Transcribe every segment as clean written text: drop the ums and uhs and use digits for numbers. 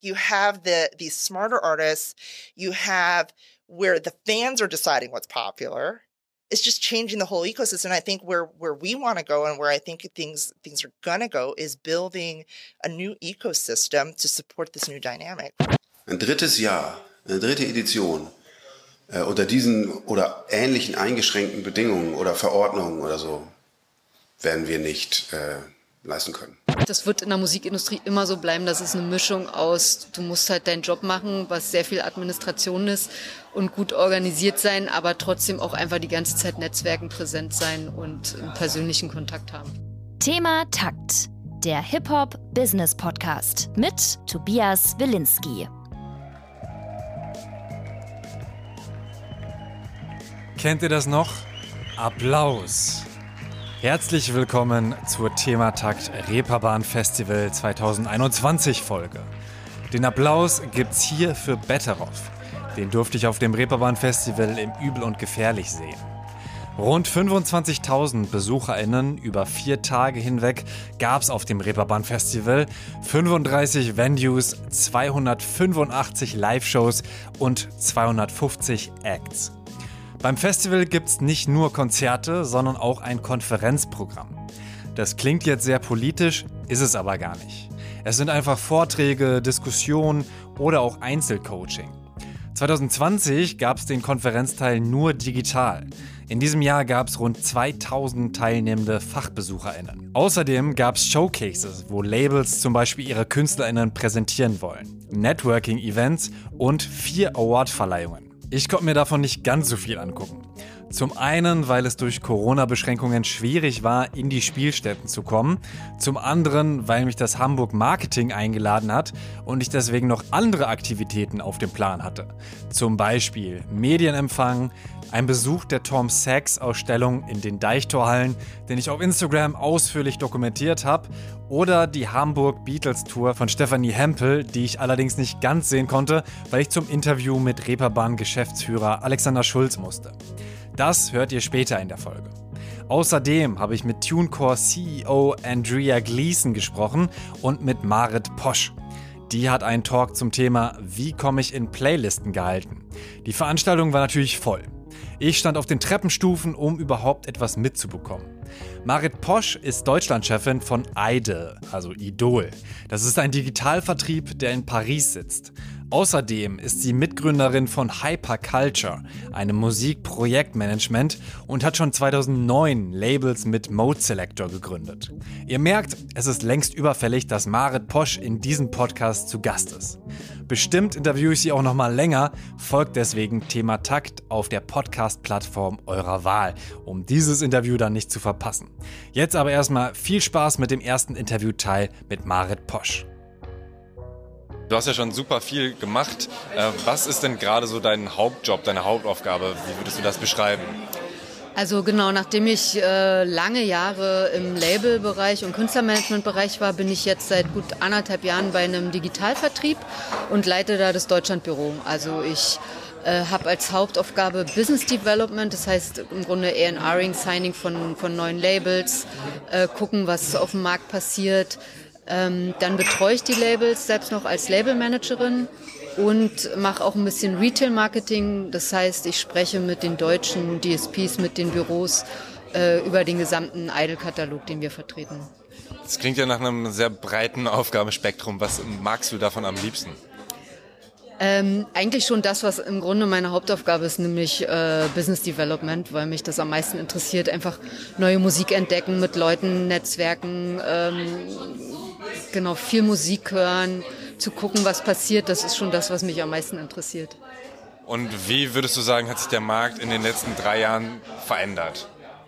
You have these smarter artists. You have where the fans are deciding what's popular. It's just changing the whole ecosystem. And I think where we want to go and where I think things are going to go is building a new ecosystem to support this new dynamic. Ein drittes Jahr, eine dritte Edition unter diesen oder ähnlichen eingeschränkten Bedingungen oder Verordnungen oder so werden wir nicht leisten können. Das wird in der Musikindustrie immer so bleiben, dass es eine Mischung aus, du musst halt deinen Job machen, was sehr viel Administration ist und gut organisiert sein, aber trotzdem auch einfach die ganze Zeit Netzwerken präsent sein und einen persönlichen Kontakt haben. Thema Takt, der Hip-Hop-Business-Podcast mit Tobias Wilinski. Kennt ihr das noch? Applaus! Herzlich willkommen zur Thematakt Reeperbahn Festival 2021 Folge. Den Applaus gibt's hier für Betteroff. Den durfte ich auf dem Reeperbahn Festival im Übel und Gefährlich sehen. Rund 25.000 BesucherInnen über 4 Tage hinweg gab's auf dem Reeperbahn Festival, 35 Venues, 285 Live-Shows und 250 Acts. Beim Festival gibt's nicht nur Konzerte, sondern auch ein Konferenzprogramm. Das klingt jetzt sehr politisch, ist es aber gar nicht. Es sind einfach Vorträge, Diskussionen oder auch Einzelcoaching. 2020 gab's den Konferenzteil nur digital. In diesem Jahr gab's rund 2000 teilnehmende FachbesucherInnen. Außerdem gab's Showcases, wo Labels zum Beispiel ihre KünstlerInnen präsentieren wollen, Networking-Events und 4 Award-Verleihungen. Ich konnte mir davon nicht ganz so viel angucken. Zum einen, weil es durch Corona-Beschränkungen schwierig war, in die Spielstätten zu kommen. Zum anderen, weil mich das Hamburg Marketing eingeladen hat und ich deswegen noch andere Aktivitäten auf dem Plan hatte. Zum Beispiel Medienempfang, ein Besuch der Tom Sachs-Ausstellung in den Deichtorhallen, den ich auf Instagram ausführlich dokumentiert habe, oder die Hamburg Beatles-Tour von Stefanie Hempel, die ich allerdings nicht ganz sehen konnte, weil ich zum Interview mit Reeperbahn-Geschäftsführer Alexander Schulz musste. Das hört ihr später in der Folge. Außerdem habe ich mit TuneCore CEO Andrea Gleason gesprochen und mit Marit Posch. Die hat einen Talk zum Thema Wie komme ich in Playlisten gehalten. Die Veranstaltung war natürlich voll. Ich stand auf den Treppenstufen, um überhaupt etwas mitzubekommen. Marit Posch ist Deutschlandchefin von Idol, also Idol. Das ist ein Digitalvertrieb, der in Paris sitzt. Außerdem ist sie Mitgründerin von Hyperculture, einem Musikprojektmanagement, und hat schon 2009 Labels mit Mode Selector gegründet. Ihr merkt, es ist längst überfällig, dass Marit Posch in diesem Podcast zu Gast ist. Bestimmt interviewe ich sie auch noch mal länger, folgt deswegen Thema Takt auf der Podcast-Plattform eurer Wahl, um dieses Interview dann nicht zu verpassen. Jetzt aber erstmal viel Spaß mit dem ersten Interviewteil mit Marit Posch. Du hast ja schon super viel gemacht. Was ist denn gerade so dein Hauptjob, deine Hauptaufgabe? Wie würdest du das beschreiben? Also genau, nachdem ich lange Jahre im Labelbereich und Künstlermanagementbereich war, bin ich jetzt seit gut 1,5 Jahren bei einem Digitalvertrieb und leite da das Deutschlandbüro. Also ich habe als Hauptaufgabe Business Development, das heißt im Grunde A&Ring, Signing von neuen Labels, gucken, was auf dem Markt passiert. Dann betreue ich die Labels selbst noch als Labelmanagerin und mache auch ein bisschen Retail-Marketing. Das heißt, ich spreche mit den deutschen DSPs, mit den Büros über den gesamten Idol-Katalog, den wir vertreten. Das klingt ja nach einem sehr breiten Aufgabenspektrum. Was magst du davon am liebsten? Eigentlich schon das, was im Grunde meine Hauptaufgabe ist, nämlich Business Development, weil mich das am meisten interessiert. Einfach neue Musik entdecken, mit Leuten netzwerken, genau, viel Musik hören, zu gucken, was passiert. Das ist schon das, was mich am meisten interessiert. Und wie würdest du sagen, hat sich der Markt in den letzten 3 Jahren verändert?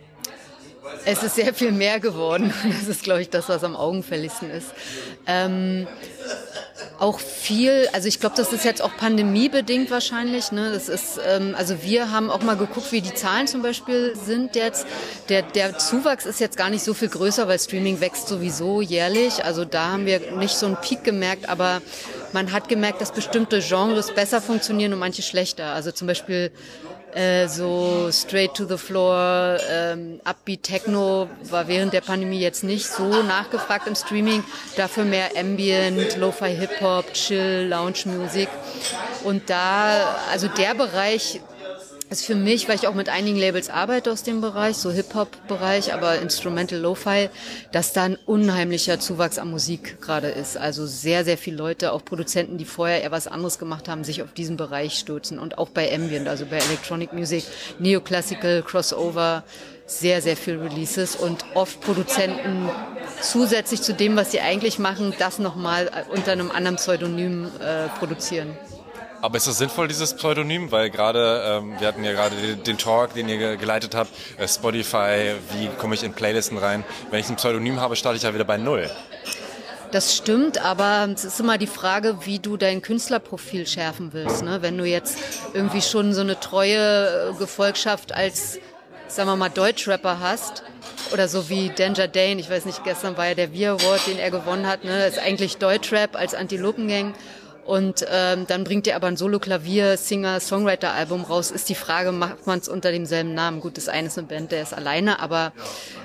Es ist sehr viel mehr geworden. Das ist, glaube ich, das, was am augenfälligsten ist. Auch viel, also ich glaube, das ist jetzt auch pandemiebedingt wahrscheinlich. Ne? Das ist, also wir haben auch mal geguckt, wie die Zahlen zum Beispiel sind jetzt. Der Zuwachs ist jetzt gar nicht so viel größer, weil Streaming wächst sowieso jährlich. Also da haben wir nicht so einen Peak gemerkt, aber man hat gemerkt, dass bestimmte Genres besser funktionieren und manche schlechter. Also zum Beispiel So Straight to the Floor, Upbeat Techno war während der Pandemie jetzt nicht so nachgefragt im Streaming. Dafür mehr Ambient, Lo-Fi Hip-Hop, Chill, Lounge-Musik. Und da, also der Bereich ist für mich, weil ich auch mit einigen Labels arbeite aus dem Bereich, so Hip-Hop-Bereich, aber Instrumental Lo-Fi, dass da ein unheimlicher Zuwachs an Musik gerade ist. Also sehr, sehr viele Leute, auch Produzenten, die vorher eher was anderes gemacht haben, sich auf diesen Bereich stürzen. Und auch bei Ambient, also bei Electronic Music, Neoclassical, Crossover, sehr, sehr viel Releases und oft Produzenten zusätzlich zu dem, was sie eigentlich machen, das nochmal unter einem anderen Pseudonym produzieren. Aber ist das sinnvoll, dieses Pseudonym? Weil gerade, wir hatten ja gerade den Talk, den ihr geleitet habt, Spotify, wie komme ich in Playlisten rein? Wenn ich ein Pseudonym habe, starte ich ja wieder bei Null. Das stimmt, aber es ist immer die Frage, wie du dein Künstlerprofil schärfen willst. Ne? Wenn du jetzt irgendwie schon so eine treue Gefolgschaft als, sagen wir mal, Deutschrapper hast, oder so wie Danger Dane, ich weiß nicht, gestern war ja der V-Award, den er gewonnen hat, ne? Das ist eigentlich Deutschrap als Antilopengang. Und dann bringt er aber ein Solo-Klavier-Singer-Songwriter-Album raus. Ist die Frage, macht man es unter demselben Namen? Gut, das eine ist eine Band, der ist alleine, aber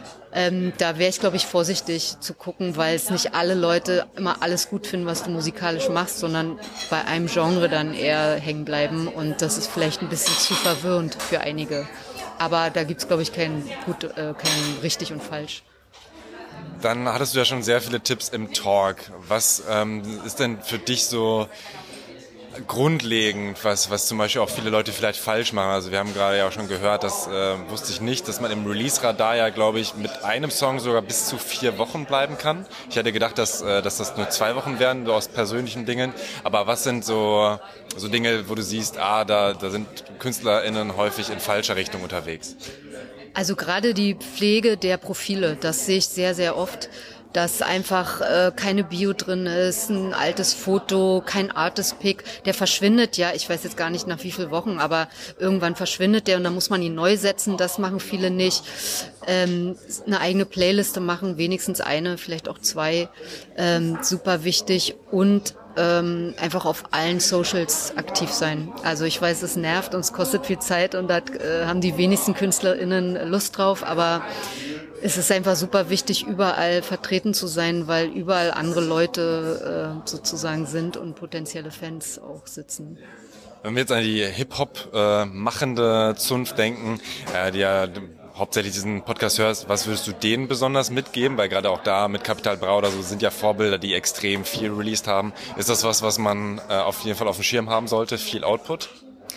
da wäre ich, glaube ich, vorsichtig zu gucken, weil es nicht alle Leute immer alles gut finden, was du musikalisch machst, sondern bei einem Genre dann eher hängen bleiben. Und das ist vielleicht ein bisschen zu verwirrend für einige. Aber da gibt's, glaube ich, kein richtig und falsch. Dann hattest du ja schon sehr viele Tipps im Talk. Was ist denn für dich so grundlegend, was zum Beispiel auch viele Leute vielleicht falsch machen? Also wir haben gerade ja auch schon gehört, das wusste ich nicht, dass man im Release-Radar ja, glaube ich, mit einem Song sogar bis zu 4 Wochen bleiben kann. Ich hätte gedacht, dass das nur 2 Wochen wären, so aus persönlichen Dingen. Aber was sind so Dinge, wo du siehst, da sind KünstlerInnen häufig in falscher Richtung unterwegs? Also gerade die Pflege der Profile, das sehe ich sehr, sehr oft, dass einfach keine Bio drin ist, ein altes Foto, kein Artist-Pick, der verschwindet ja, ich weiß jetzt gar nicht nach wie vielen Wochen, aber irgendwann verschwindet der und dann muss man ihn neu setzen, das machen viele nicht. Eine eigene Playliste machen, wenigstens eine, vielleicht auch 2, super wichtig und einfach auf allen Socials aktiv sein. Also ich weiß, es nervt und es kostet viel Zeit und da haben die wenigsten KünstlerInnen Lust drauf, aber es ist einfach super wichtig, überall vertreten zu sein, weil überall andere Leute sozusagen sind und potenzielle Fans auch sitzen. Wenn wir jetzt an die Hip-Hop machende Zunft denken, die ja hauptsächlich diesen Podcast hörst, was würdest du denen besonders mitgeben? Weil gerade auch da mit Capital Bra oder so sind ja Vorbilder, die extrem viel released haben. Ist das was man auf jeden Fall auf dem Schirm haben sollte? Viel Output?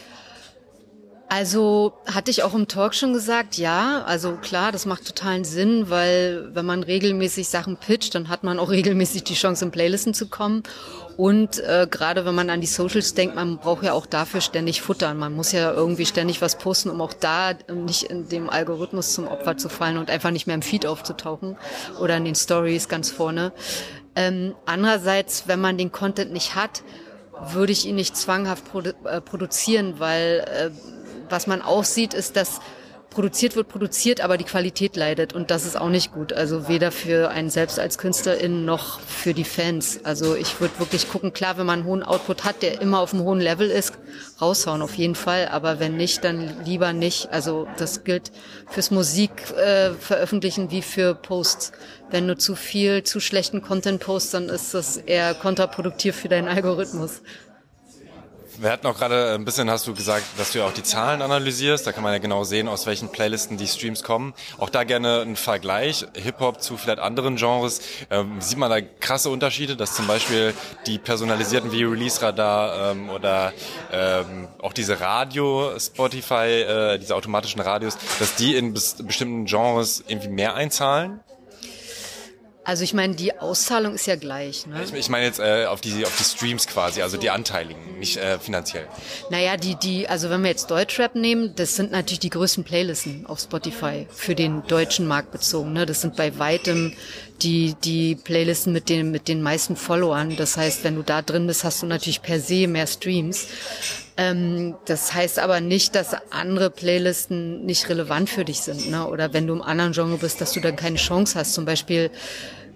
Also hatte ich auch im Talk schon gesagt, ja, also klar, das macht totalen Sinn, weil wenn man regelmäßig Sachen pitcht, dann hat man auch regelmäßig die Chance, in Playlisten zu kommen. Und gerade wenn man an die Socials denkt, man braucht ja auch dafür ständig futtern. Man muss ja irgendwie ständig was posten, um auch da nicht in dem Algorithmus zum Opfer zu fallen und einfach nicht mehr im Feed aufzutauchen oder in den Stories ganz vorne. Andererseits, wenn man den Content nicht hat, würde ich ihn nicht zwanghaft produzieren, weil was man auch sieht, ist, dass produziert, aber die Qualität leidet und das ist auch nicht gut. Also weder für einen selbst als Künstlerin noch für die Fans. Also ich würde wirklich gucken, klar, wenn man einen hohen Output hat, der immer auf einem hohen Level ist, raushauen auf jeden Fall, aber wenn nicht, dann lieber nicht. Also das gilt fürs Musik veröffentlichen wie für Posts. Wenn du zu schlechten Content postst, dann ist das eher kontraproduktiv für deinen Algorithmus. Wir hatten auch gerade ein bisschen, hast du gesagt, dass du ja auch die Zahlen analysierst. Da kann man ja genau sehen, aus welchen Playlisten die Streams kommen. Auch da gerne ein Vergleich, Hip-Hop zu vielleicht anderen Genres. Sieht man da krasse Unterschiede, dass zum Beispiel die personalisierten wie Release-Radar oder auch diese Radio-Spotify, diese automatischen Radios, dass die in bestimmten Genres irgendwie mehr einzahlen? Also ich meine, die Auszahlung ist ja gleich. Ne? Ich meine jetzt auf die Streams quasi, also die Anteiligen, nicht finanziell. Naja, also wenn wir jetzt Deutschrap nehmen, das sind natürlich die größten Playlisten auf Spotify für den deutschen Markt bezogen. Ne? Das sind bei weitem die Playlisten mit den meisten Followern. Das heißt, wenn du da drin bist, hast du natürlich per se mehr Streams. Das heißt aber nicht, dass andere Playlisten nicht relevant für dich sind, ne? Oder wenn du im anderen Genre bist, dass du dann keine Chance hast. Zum Beispiel,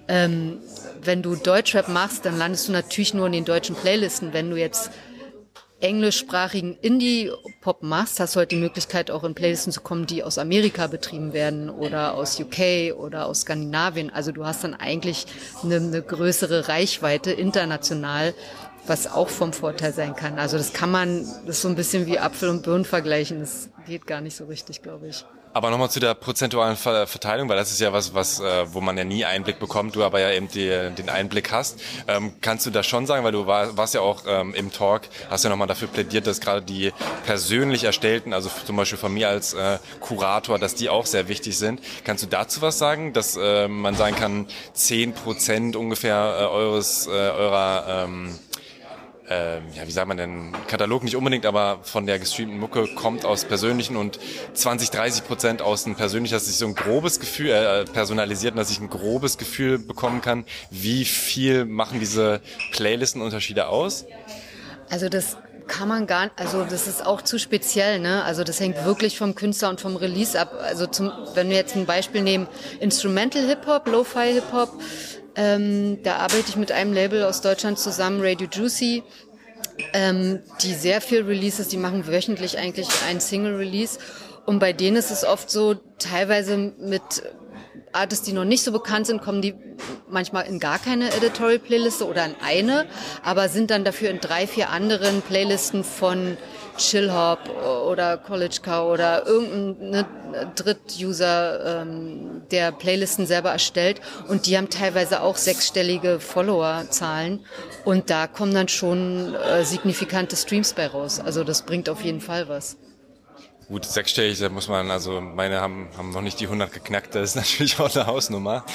wenn du Deutschrap machst, dann landest du natürlich nur in den deutschen Playlisten. Wenn du jetzt englischsprachigen Indie-Pop machst, hast du halt die Möglichkeit, auch in Playlisten zu kommen, die aus Amerika betrieben werden oder aus UK oder aus Skandinavien. Also du hast dann eigentlich eine größere Reichweite international, was auch vom Vorteil sein kann. Also das ist so ein bisschen wie Apfel und Birnen vergleichen. Das geht gar nicht so richtig, glaube ich. Aber nochmal zu der prozentualen Verteilung, weil das ist ja was, wo man ja nie Einblick bekommt, du aber ja eben den Einblick hast. Kannst du das schon sagen, weil du warst ja auch im Talk, hast ja nochmal dafür plädiert, dass gerade die persönlich erstellten, also zum Beispiel von mir als Kurator, dass die auch sehr wichtig sind. Kannst du dazu was sagen, dass man sagen kann, 10% ungefähr eurer wie sagt man denn, Katalog nicht unbedingt, aber von der gestreamten Mucke kommt aus persönlichen und 20-30% aus dem persönlichen, dass ich so ein grobes Gefühl, personalisiert, dass ich ein grobes Gefühl bekommen kann, wie viel machen diese Playlistenunterschiede aus? Also das kann man gar nicht, also das ist auch zu speziell, ne? Also das hängt wirklich vom Künstler und vom Release ab. Also wenn wir jetzt ein Beispiel nehmen, Instrumental Hip-Hop, Lo-Fi Hip-Hop, da arbeite ich mit einem Label aus Deutschland zusammen, Radio Juicy, die sehr viel Releases, die machen wöchentlich eigentlich ein Single-Release. Und bei denen ist es oft so, teilweise mit Artists, die noch nicht so bekannt sind, kommen die manchmal in gar keine Editorial-Playliste oder in eine, aber sind dann dafür in 3, 4 anderen Playlisten von Chill-Hop oder College Cow oder irgendein Dritt-User, der Playlisten selber erstellt. Und die haben teilweise auch 6-stellige Follower-Zahlen. Und da kommen dann schon signifikante Streams bei raus. Also das bringt auf jeden Fall was. Gut, 6-stellig, da muss man, also meine haben noch nicht die 100 geknackt, das ist natürlich auch eine Hausnummer.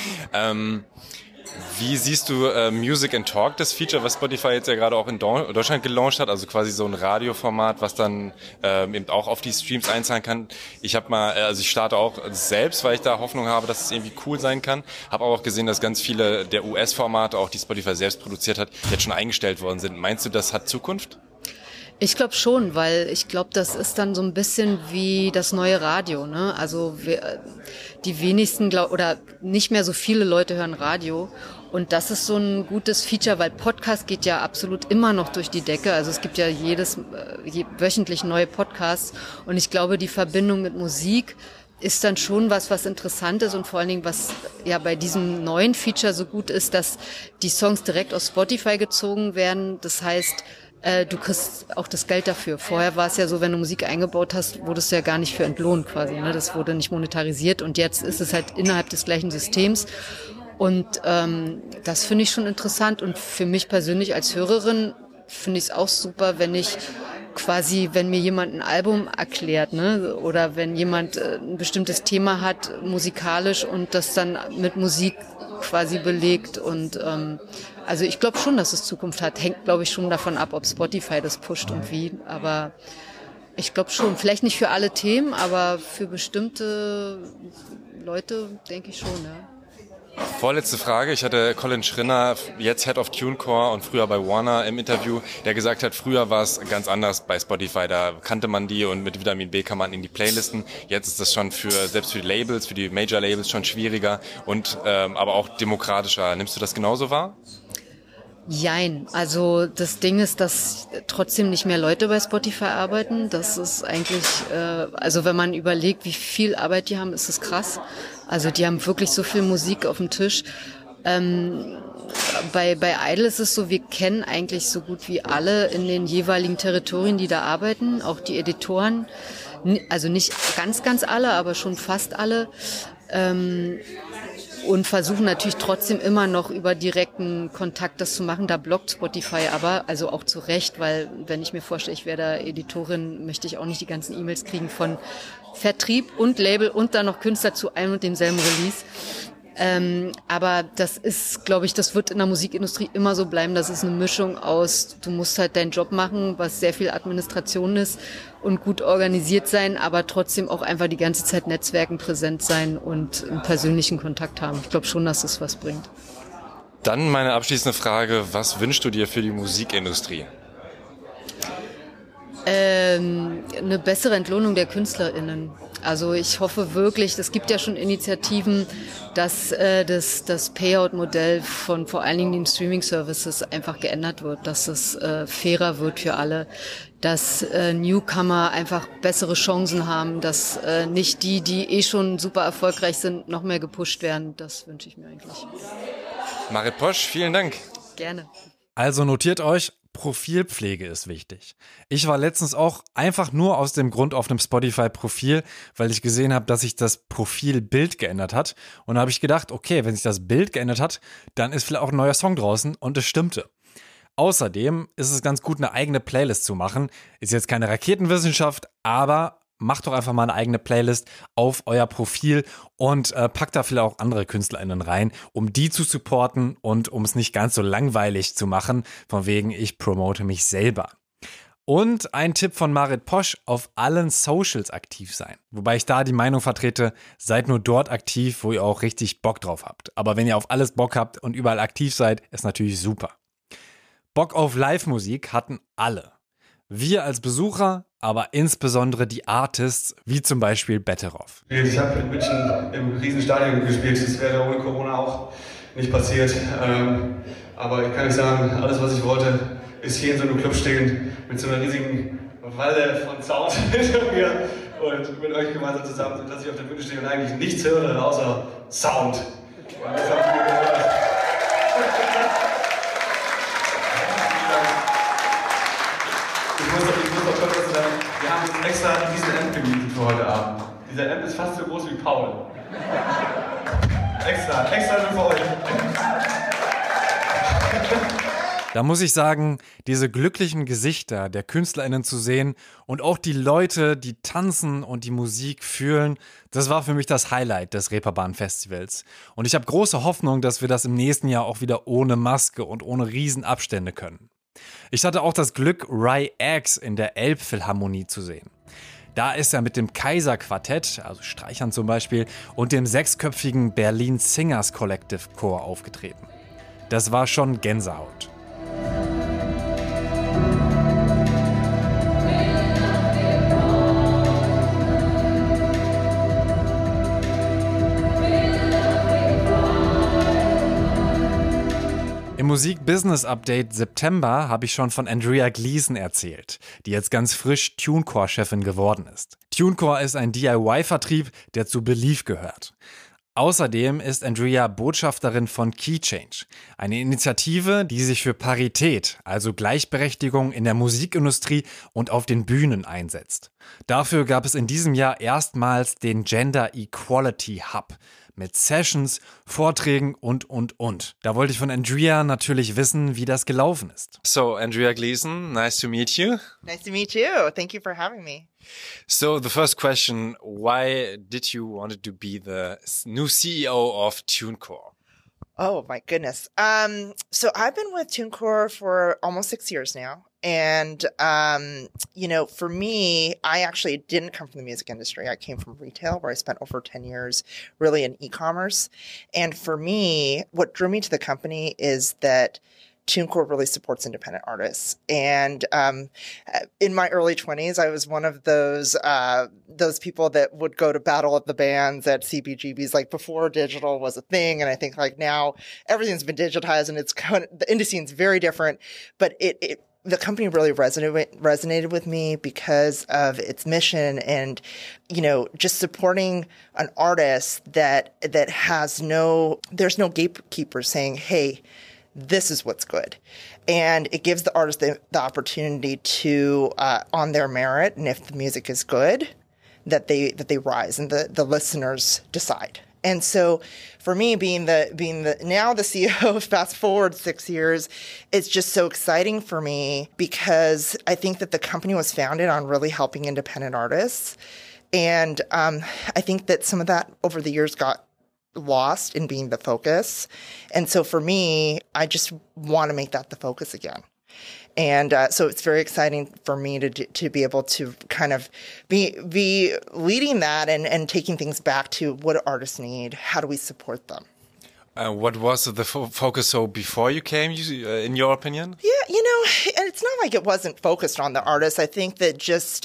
Wie siehst du Music and Talk, das Feature, was Spotify jetzt ja gerade auch in Deutschland gelauncht hat, also quasi so ein Radioformat, was dann eben auch auf die Streams einzahlen kann. Ich starte auch selbst, weil ich da Hoffnung habe, dass es irgendwie cool sein kann. Habe aber auch gesehen, dass ganz viele der US-Formate, auch die Spotify selbst produziert hat, jetzt schon eingestellt worden sind. Meinst du, das hat Zukunft? Ich glaube schon, weil ich glaube, das ist dann so ein bisschen wie das neue Radio, ne? Also die wenigsten oder nicht mehr so viele Leute hören Radio. Und das ist so ein gutes Feature, weil Podcast geht ja absolut immer noch durch die Decke. Also es gibt ja wöchentlich neue Podcasts. Und ich glaube, die Verbindung mit Musik ist dann schon was interessant ist und vor allen Dingen, was ja bei diesem neuen Feature so gut ist, dass die Songs direkt aus Spotify gezogen werden. Das heißt, du kriegst auch das Geld dafür. Vorher war es ja so, wenn du Musik eingebaut hast, wurdest du ja gar nicht für entlohnt quasi, ne? Das wurde nicht monetarisiert und jetzt ist es halt innerhalb des gleichen Systems. Und das finde ich schon interessant und für mich persönlich als Hörerin finde ich es auch super, wenn mir jemand ein Album erklärt, ne, oder wenn jemand ein bestimmtes Thema hat musikalisch und das dann mit Musik quasi belegt und also ich glaube schon, dass es Zukunft hat. Hängt, glaube ich, schon davon ab, ob Spotify das pusht und wie, aber ich glaube schon. Vielleicht nicht für alle Themen, aber für bestimmte Leute denke ich schon, ja. Vorletzte Frage. Ich hatte Colin Schrinner, jetzt Head of TuneCore und früher bei Warner im Interview, der gesagt hat, früher war es ganz anders bei Spotify. Da kannte man die und mit Vitamin B kann man in die Playlisten. Jetzt ist das schon selbst für die Labels, für die Major-Labels schon schwieriger und aber auch demokratischer. Nimmst du das genauso wahr? Jein. Also das Ding ist, dass trotzdem nicht mehr Leute bei Spotify arbeiten. Das ist eigentlich, also wenn man überlegt, wie viel Arbeit die haben, ist es krass. Also die haben wirklich so viel Musik auf dem Tisch. Bei Idle ist es so, wir kennen eigentlich so gut wie alle in den jeweiligen Territorien, die da arbeiten, auch die Editoren. Also nicht ganz alle, aber schon fast alle. Und versuchen natürlich trotzdem immer noch über direkten Kontakt das zu machen. Da blockt Spotify aber, also auch zu Recht, weil wenn ich mir vorstelle, ich wäre da Editorin, möchte ich auch nicht die ganzen E-Mails kriegen von Vertrieb und Label und dann noch Künstler zu einem und demselben Release. Aber das ist, glaube ich, das wird in der Musikindustrie immer so bleiben. Das ist eine Mischung aus, du musst halt deinen Job machen, was sehr viel Administration ist und gut organisiert sein, aber trotzdem auch einfach die ganze Zeit Netzwerken präsent sein und einen persönlichen Kontakt haben. Ich glaube schon, dass das was bringt. Dann meine abschließende Frage, was wünschst du dir für die Musikindustrie? Eine bessere Entlohnung der KünstlerInnen. Also ich hoffe wirklich, es gibt ja schon Initiativen, dass das Payout-Modell von vor allen Dingen den Streaming-Services einfach geändert wird, dass es fairer wird für alle, dass Newcomer einfach bessere Chancen haben, dass nicht die schon super erfolgreich sind, noch mehr gepusht werden. Das wünsche ich mir eigentlich. Marit Posch, vielen Dank. Gerne. Also notiert euch, Profilpflege ist wichtig. Ich war letztens auch einfach nur aus dem Grund auf einem Spotify-Profil, weil ich gesehen habe, dass sich das Profilbild geändert hat. Und da habe ich gedacht, okay, wenn sich das Bild geändert hat, dann ist vielleicht auch ein neuer Song draußen und es stimmte. Außerdem ist es ganz gut, eine eigene Playlist zu machen. Ist jetzt keine Raketenwissenschaft, aber macht doch einfach mal eine eigene Playlist auf euer Profil und packt da vielleicht auch andere KünstlerInnen rein, um die zu supporten und um es nicht ganz so langweilig zu machen, von wegen ich promote mich selber. Und ein Tipp von Marit Posch, auf allen Socials aktiv sein. Wobei ich da die Meinung vertrete, seid nur dort aktiv, wo ihr auch richtig Bock drauf habt. Aber wenn ihr auf alles Bock habt und überall aktiv seid, ist natürlich super. Bock auf Live-Musik hatten alle. Wir als Besucher, aber insbesondere die Artists, wie zum Beispiel Betteroff. Ich habe in München im Riesenstadion gespielt, das wäre ohne Corona auch nicht passiert. Aber ich kann euch sagen, alles was ich wollte, ist hier in so einem Club stehen, mit so einer riesigen Walle von Sound hinter mir und mit euch gemeinsam zusammen, dass ich auf der Bühne stehe und eigentlich nichts höre, außer Sound. Und das habt ihr gehört. Ich muss auch kurz sagen, wir haben uns extra diesen Amp gemietet für heute Abend. Dieser Amp ist fast so groß wie Paul. Extra nur für euch. Da muss ich sagen, diese glücklichen Gesichter der KünstlerInnen zu sehen und auch die Leute, die tanzen und die Musik fühlen, das war für mich das Highlight des Reeperbahn-Festivals. Und ich habe große Hoffnung, dass wir das im nächsten Jahr auch wieder ohne Maske und ohne Riesenabstände können. Ich hatte auch das Glück, Rai X in der Elbphilharmonie zu sehen. Da ist er mit dem Kaiser-Quartett, also Streichern zum Beispiel, und dem 6-köpfigen Berlin Singers Collective Chor aufgetreten. Das war schon Gänsehaut. Im Musik-Business-Update September habe ich schon von Andrea Gleason erzählt, die jetzt ganz frisch TuneCore-Chefin geworden ist. TuneCore ist ein DIY-Vertrieb, der zu Believe gehört. Außerdem ist Andrea Botschafterin von KeyChange, eine Initiative, die sich für Parität, also Gleichberechtigung in der Musikindustrie und auf den Bühnen einsetzt. Dafür gab es in diesem Jahr erstmals den Gender Equality Hub mit Sessions, Vorträgen und. Da wollte ich von Andrea natürlich wissen, wie das gelaufen ist. So, Andrea Gleason, nice to meet you. Nice to meet you. Thank you for having me. So, the first question, why did you want to be the new CEO of TuneCore? Oh my goodness. So I've been with TuneCore for almost 6 years now. And, for me, I actually didn't come from the music industry. I came from retail where I spent over 10 years really in e-commerce. And for me, what drew me to the company is that TuneCore really supports independent artists. And in my early 20s, I was one of those people that would go to Battle of the Bands at CBGBs, like before digital was a thing. And I think like now everything's been digitized and the indie scene's very different. But the company really resonated with me because of its mission and, just supporting an artist that has there's no gatekeeper saying, hey, this is what's good. And it gives the artist the opportunity to, on their merit, and if the music is good, that they rise and the listeners decide. And so for me, being the now the CEO, fast forward 6 years, it's just so exciting for me because I think that the company was founded on really helping independent artists. And I think that some of that over the years got lost in being the focus. And so for me, I just want to make that the focus again. And so it's very exciting for me to be able to kind of be leading that and taking things back to what artists need. How do we support them? What was the focus so before you came, in your opinion? Yeah, and it's not like it wasn't focused on the artists. I think that just,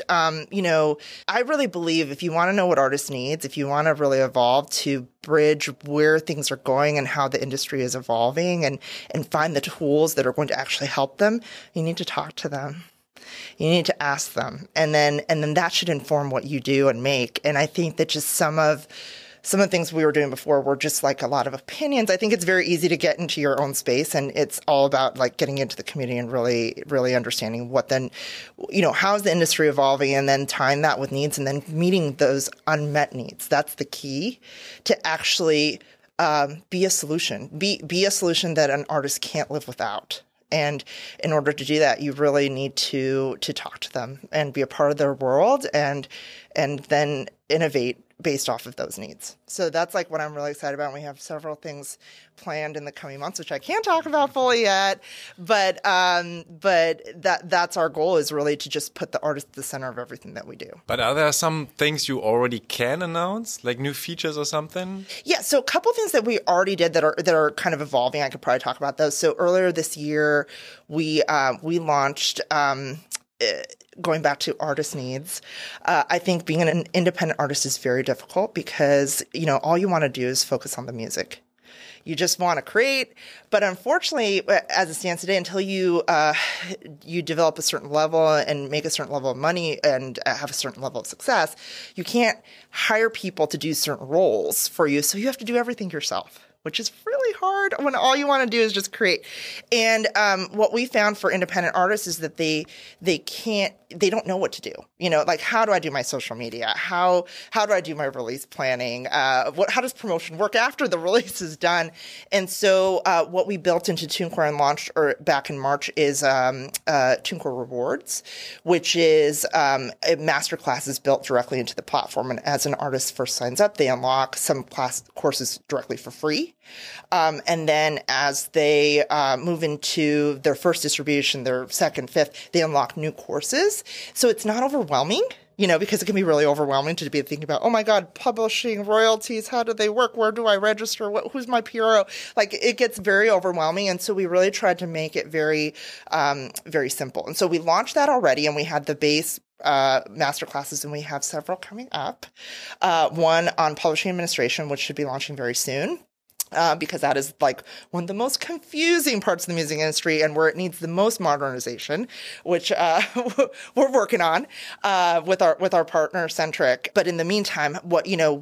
I really believe if you want to know what artists needs, if you want to really evolve to bridge where things are going and how the industry is evolving and find the tools that are going to actually help them, you need to talk to them. You need to ask them. And then that should inform what you do and make. And I think that just some of the things we were doing before were just like a lot of opinions. I think it's very easy to get into your own space, and it's all about like getting into the community and really, really understanding what then, how's the industry evolving, and then tying that with needs and then meeting those unmet needs. That's the key to actually be a solution. Be a solution that an artist can't live without. And in order to do that, you really need to talk to them and be a part of their world and then innovate based off of those needs. So that's like what I'm really excited about. We have several things planned in the coming months, which I can't talk about fully yet, but that's our goal, is really to just put the artist at the center of everything that we do. But are there some things you already can announce, like new features or something? Yeah, so a couple things that we already did that are kind of evolving. I could probably talk about those. So earlier this year, we launched. Going back to artist needs, I think being an independent artist is very difficult because, all you want to do is focus on the music. You just want to create. But unfortunately, as it stands today, until you develop a certain level and make a certain level of money and have a certain level of success, you can't hire people to do certain roles for you. So you have to do everything yourself, which is really hard when all you want to do is just create. And what we found for independent artists is that they don't know what to do. Like, how do I do my social media? How do I do my release planning? How does promotion work after the release is done? And so what we built into TuneCore and launched back in March is TuneCore Rewards, which is masterclasses built directly into the platform. And as an artist first signs up, they unlock some courses directly for free. And then as they move into their first distribution, their second, fifth, they unlock new courses. So it's not overwhelming, because it can be really overwhelming to be thinking about, oh my God, publishing, royalties, how do they work? Where do I register? Who's my PRO? Like, it gets very overwhelming. And so we really tried to make it very, very simple. And so we launched that already, and we had the base masterclasses, and we have several coming up. One on publishing administration, which should be launching very soon. Because that is like one of the most confusing parts of the music industry and where it needs the most modernization, which we're working on with our partner Centric. But in the meantime, how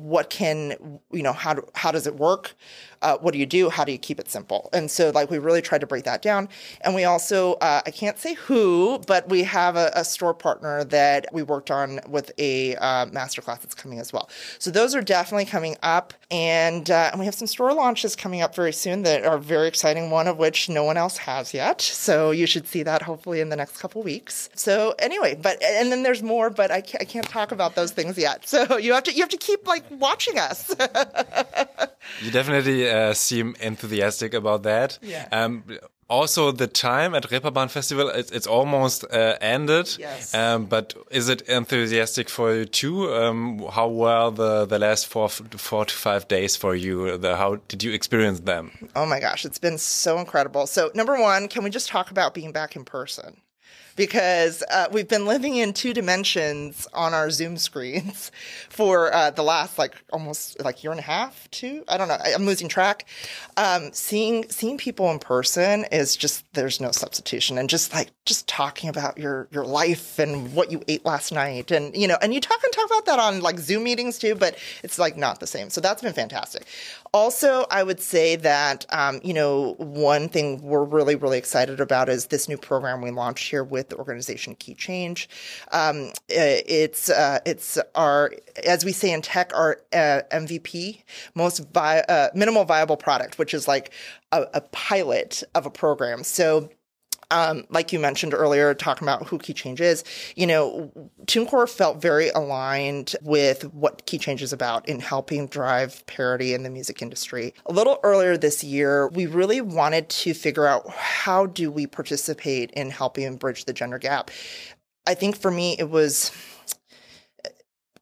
does it work? What do you do? How do you keep it simple? And so we really tried to break that down. And we also, I can't say who, but we have a store partner that we worked on with a masterclass that's coming as well. So those are definitely coming up. And we have some store launches coming up very soon that are very exciting, one of which no one else has yet. So you should see that hopefully in the next couple weeks. So anyway, and then there's more, but I can't talk about those things yet. So you have to keep watching us. You definitely seem enthusiastic about that. Yeah. Also, the time at Reeperbahn Festival, it's almost ended. Yes. But is it enthusiastic for you too? How were the last 4 to 5 days for you? How did you experience them? Oh my gosh, it's been so incredible. So number one, can we just talk about being back in person? Because we've been living in 2 dimensions on our Zoom screens for the last almost year and a half, 2. I don't know. I'm losing track. Seeing people in person is just, there's no substitution. And just talking about your life and what you ate last night, and and you talk about that on Zoom meetings too, but it's not the same. So that's been fantastic. Also, I would say that one thing we're really, really excited about is this new program we launched here with the organization Key Change. It's our, as we say in tech, our MVP, minimal viable product, which is a pilot of a program. So like you mentioned earlier, talking about who Key Change is, TuneCore felt very aligned with what Key Change is about in helping drive parity in the music industry. A little earlier this year, we really wanted to figure out how do we participate in helping bridge the gender gap. I think for me, it was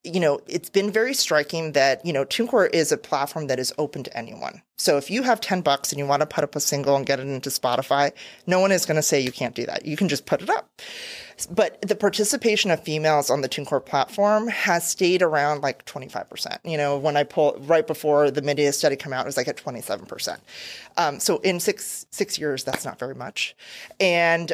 it's been very striking that, TuneCore is a platform that is open to anyone. So if you have $10 and you want to put up a single and get it into Spotify, no one is going to say you can't do that. You can just put it up. But the participation of females on the TuneCore platform has stayed around like 25%. When I pull right before the Medea study came out, it was like at 27%. So in six years, that's not very much. And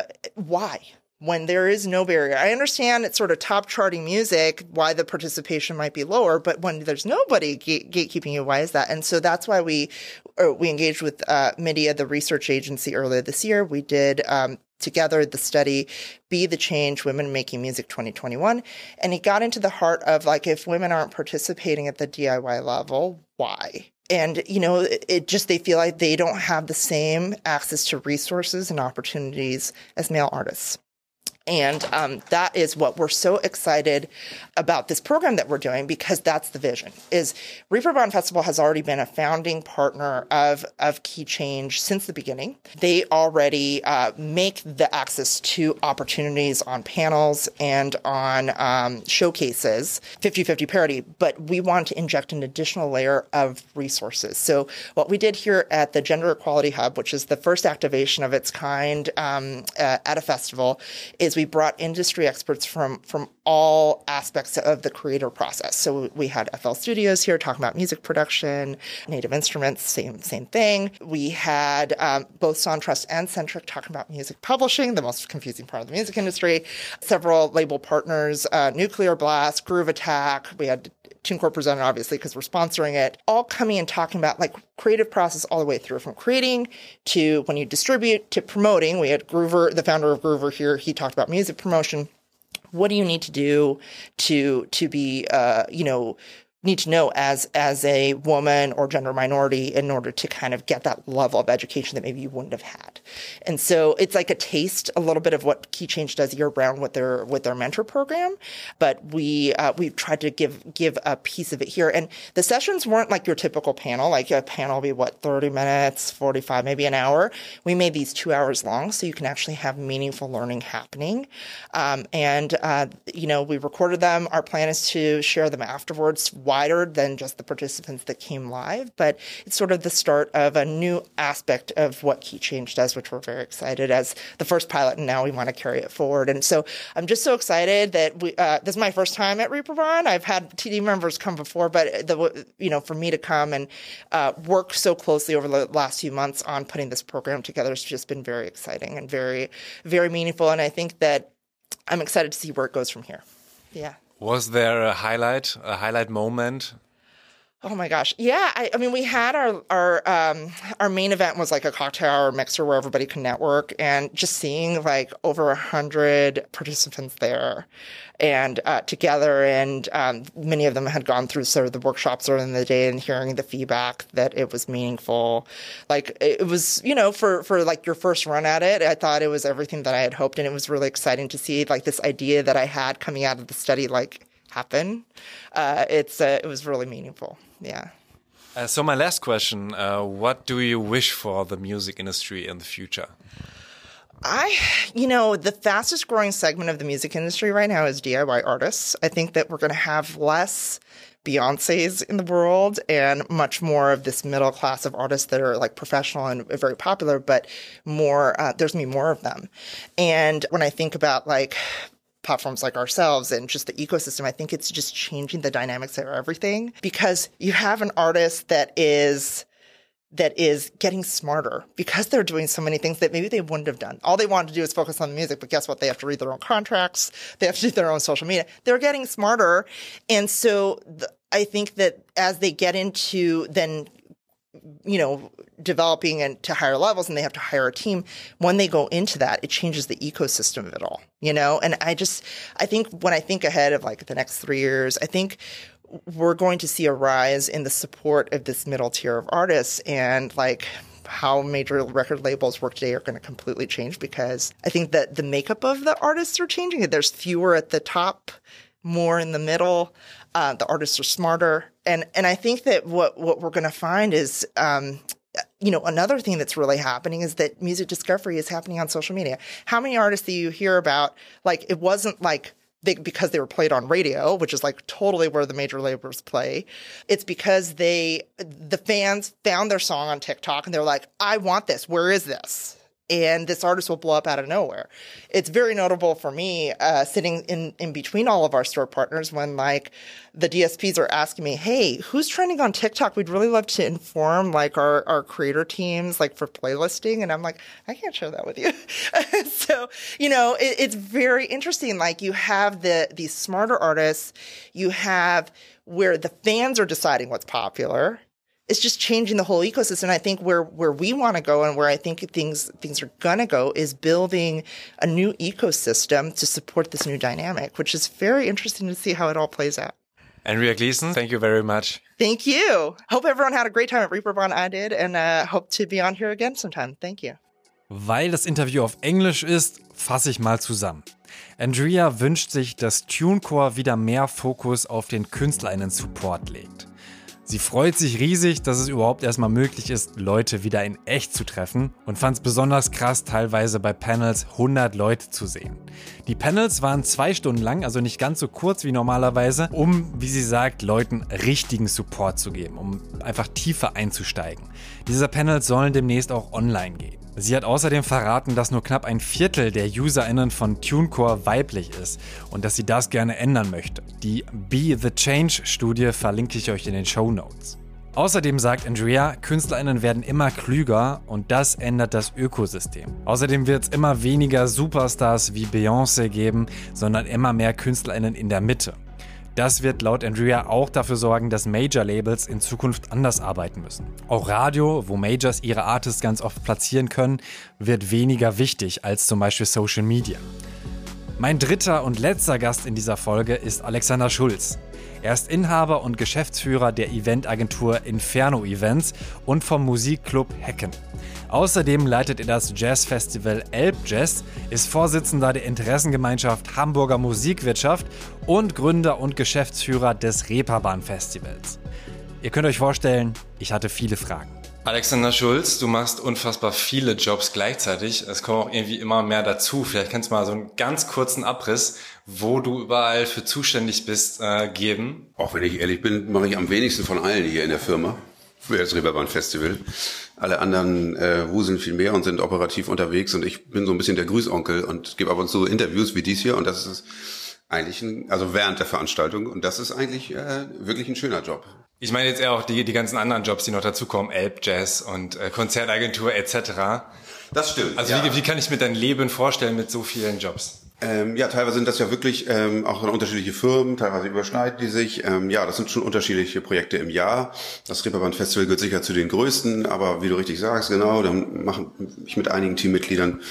why? When there is no barrier. I understand it's sort of top charting music, why the participation might be lower, but when there's nobody gatekeeping you, why is that? And so that's why we engaged with Medea, the research agency, earlier this year. We did together the study, Be the Change, Women Making Music 2021. And it got into the heart of like, if women aren't participating at the DIY level, why? And, they feel like they don't have the same access to resources and opportunities as male artists. And that is what we're so excited about this program that we're doing, because that's the vision. Is Reeperbahn Festival has already been a founding partner of Key Change since the beginning. They already make the access to opportunities on panels and on showcases, 50-50 parity, but we want to inject an additional layer of resources. So what we did here at the Gender Equality Hub, which is the first activation of its kind at a festival, is we brought industry experts from all aspects of the creator process. So we had FL Studios here talking about music production, Native Instruments, same thing. We had both SoundTrust and Centric talking about music publishing, the most confusing part of the music industry. Several label partners, Nuclear Blast, Groove Attack. We had TuneCore presented, obviously, because we're sponsoring it, all coming and talking about like creative process all the way through, from creating to when you distribute to promoting. We had Groover, the founder of Groover here. He talked about music promotion. What do you need to do to be, need to know as a woman or gender minority in order to kind of get that level of education that maybe you wouldn't have had. And so it's like a taste, a little bit of what Key Change does year round with their mentor program. But we've tried to give a piece of it here. And the sessions weren't like your typical panel. Like a panel will be 30 minutes, 45, maybe an hour. We made these 2 hours long so you can actually have meaningful learning happening. We recorded them. Our plan is to share them afterwards, wider than just the participants that came live, but it's sort of the start of a new aspect of what Key Change does, which we're very excited as the first pilot, and now we want to carry it forward. And so I'm just so excited that this is my first time at Reeperbahn. I've had TD members come before, but for me to come and work so closely over the last few months on putting this program together has just been very exciting and very, very meaningful. And I think that I'm excited to see where it goes from here. Yeah. Was there a highlight moment? Oh my gosh. Yeah. I mean, we had our main event was like a cocktail hour mixer where everybody can network, and just seeing like over 100 participants there and together. And many of them had gone through sort of the workshops earlier in the day, and hearing the feedback that it was meaningful. Like it was, for like your first run at it, I thought it was everything that I had hoped. And it was really exciting to see like this idea that I had coming out of the study, like happen. It was really meaningful. Yeah. So my last question, what do you wish for the music industry in the future? The fastest growing segment of the music industry right now is DIY artists. I think that we're going to have less Beyoncés in the world and much more of this middle class of artists that are like professional and very popular, but more, there's going to be more of them. And when I think about like platforms like ourselves and just the ecosystem, I think it's just changing the dynamics of everything, because you have an artist that is getting smarter because they're doing so many things that maybe they wouldn't have done. All they wanted to do is focus on the music, but guess what? They have to read their own contracts. They have to do their own social media. They're getting smarter. And so I think that as they get into then, developing and to higher levels, and they have to hire a team, when they go into that, it changes the ecosystem of it all, And I think when I think ahead of like the next 3 years, I think we're going to see a rise in the support of this middle tier of artists, and like how major record labels work today are going to completely change, because I think that the makeup of the artists are changing. There's fewer at the top, more in the middle. The artists are smarter. And I think that what we're going to find is, another thing that's really happening is that music discovery is happening on social media. How many artists do you hear about? Like, it wasn't like because they were played on radio, which is like totally where the major labels play. It's because the fans found their song on TikTok and they're like, I want this. Where is this? And this artist will blow up out of nowhere. It's very notable for me, sitting in between all of our store partners when like the DSPs are asking me, hey, who's trending on TikTok? We'd really love to inform like our creator teams, like for playlisting. And I'm like, I can't share that with you. So, it's very interesting. Like you have these smarter artists, you have where the fans are deciding what's popular. It's just changing the whole ecosystem. And I think where we want to go and where I think things are going to go is building a new ecosystem to support this new dynamic, which is very interesting to see how it all plays out. Andrea Gleason, thank you very much. Thank you. Hope everyone had a great time at Reeperbahn. I did, and hope to be on here again sometime. Thank you. Weil das Interview auf Englisch ist, fasse ich mal zusammen. Andrea wünscht sich, dass TuneCore wieder mehr Fokus auf den KünstlerInnen-Support legt. Sie freut sich riesig, dass es überhaupt erstmal möglich ist, Leute wieder in echt zu treffen und fand es besonders krass, teilweise bei Panels 100 Leute zu sehen. Die Panels waren 2 Stunden lang, also nicht ganz so kurz wie normalerweise, um, wie sie sagt, Leuten richtigen Support zu geben, um einfach tiefer einzusteigen. Diese Panels sollen demnächst auch online gehen. Sie hat außerdem verraten, dass nur knapp ein Viertel der UserInnen von TuneCore weiblich ist und dass sie das gerne ändern möchte. Die Be the Change-Studie verlinke ich euch in den Shownotes. Außerdem sagt Andrea, KünstlerInnen werden immer klüger und das ändert das Ökosystem. Außerdem wird es immer weniger Superstars wie Beyoncé geben, sondern immer mehr KünstlerInnen in der Mitte. Das wird laut Andrea auch dafür sorgen, dass Major-Labels in Zukunft anders arbeiten müssen. Auch Radio, wo Majors ihre Artists ganz oft platzieren können, wird weniger wichtig als zum Beispiel Social Media. Mein dritter und letzter Gast in dieser Folge ist Alexander Schulz. Er ist Inhaber und Geschäftsführer der Eventagentur Inferno Events und vom Musikclub Hecken. Außerdem leitet er das Jazzfestival Elbjazz, ist Vorsitzender der Interessengemeinschaft Hamburger Musikwirtschaft und Gründer und Geschäftsführer des Reeperbahn Festivals. Ihr könnt euch vorstellen, ich hatte viele Fragen. Alexander Schulz, du machst unfassbar viele Jobs gleichzeitig. Es kommen auch irgendwie immer mehr dazu. Vielleicht kannst du mal so einen ganz kurzen Abriss, wo du überall für zuständig bist, geben. Auch wenn ich ehrlich bin, mache ich am wenigsten von allen hier in der Firma für das Reeperbahn Festival. Alle anderen wuseln viel mehr und sind operativ unterwegs und ich bin so ein bisschen der Grüßonkel und gebe ab und zu Interviews wie dies hier und das ist eigentlich also während der Veranstaltung und das ist eigentlich wirklich ein schöner Job. Ich meine jetzt eher auch die ganzen anderen Jobs, die noch dazukommen, Elbjazz und Konzertagentur etc. Das stimmt. Also ja. Wie kann ich mir dein Leben vorstellen mit so vielen Jobs? Teilweise sind das ja wirklich auch unterschiedliche Firmen, teilweise überschneiden die sich. Das sind schon unterschiedliche Projekte im Jahr. Das Reeperbahn Festival gehört sicher zu den größten, aber wie du richtig sagst, genau, dann mache ich mit einigen Teammitgliedern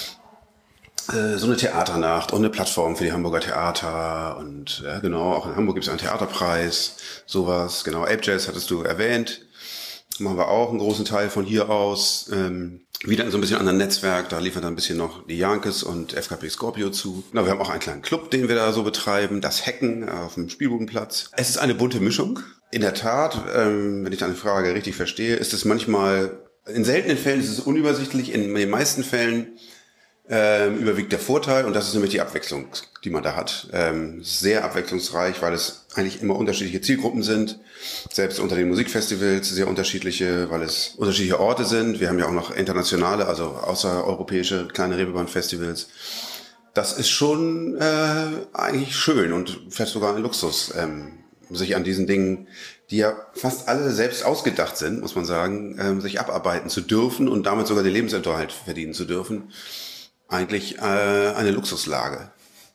so eine Theaternacht und eine Plattform für die Hamburger Theater und ja, genau, auch in Hamburg gibt es einen Theaterpreis, sowas, genau, Elbjazz hattest du erwähnt, machen wir auch einen großen Teil von hier aus, wieder in so ein bisschen anderen Netzwerk, da liefern dann ein bisschen noch die Jankes und FKP Scorpio zu. Na, wir haben auch einen kleinen Club, den wir da so betreiben, das Hecken auf dem Spielbudenplatz. Es ist eine bunte Mischung. In der Tat, wenn ich deine Frage richtig verstehe, ist es manchmal, in seltenen Fällen ist es unübersichtlich, in den meisten Fällen überwiegt der Vorteil und das ist nämlich die Abwechslung, die man da hat. Sehr abwechslungsreich, weil es eigentlich immer unterschiedliche Zielgruppen sind. Selbst unter den Musikfestivals sehr unterschiedliche, weil es unterschiedliche Orte sind. Wir haben ja auch noch internationale, also außereuropäische kleine Reeperbahn-Festivals. Das ist schon eigentlich schön und fast sogar ein Luxus, sich an diesen Dingen, die ja fast alle selbst ausgedacht sind, muss man sagen, sich abarbeiten zu dürfen und damit sogar den Lebensunterhalt verdienen zu dürfen. Eigentlich eine Luxuslage.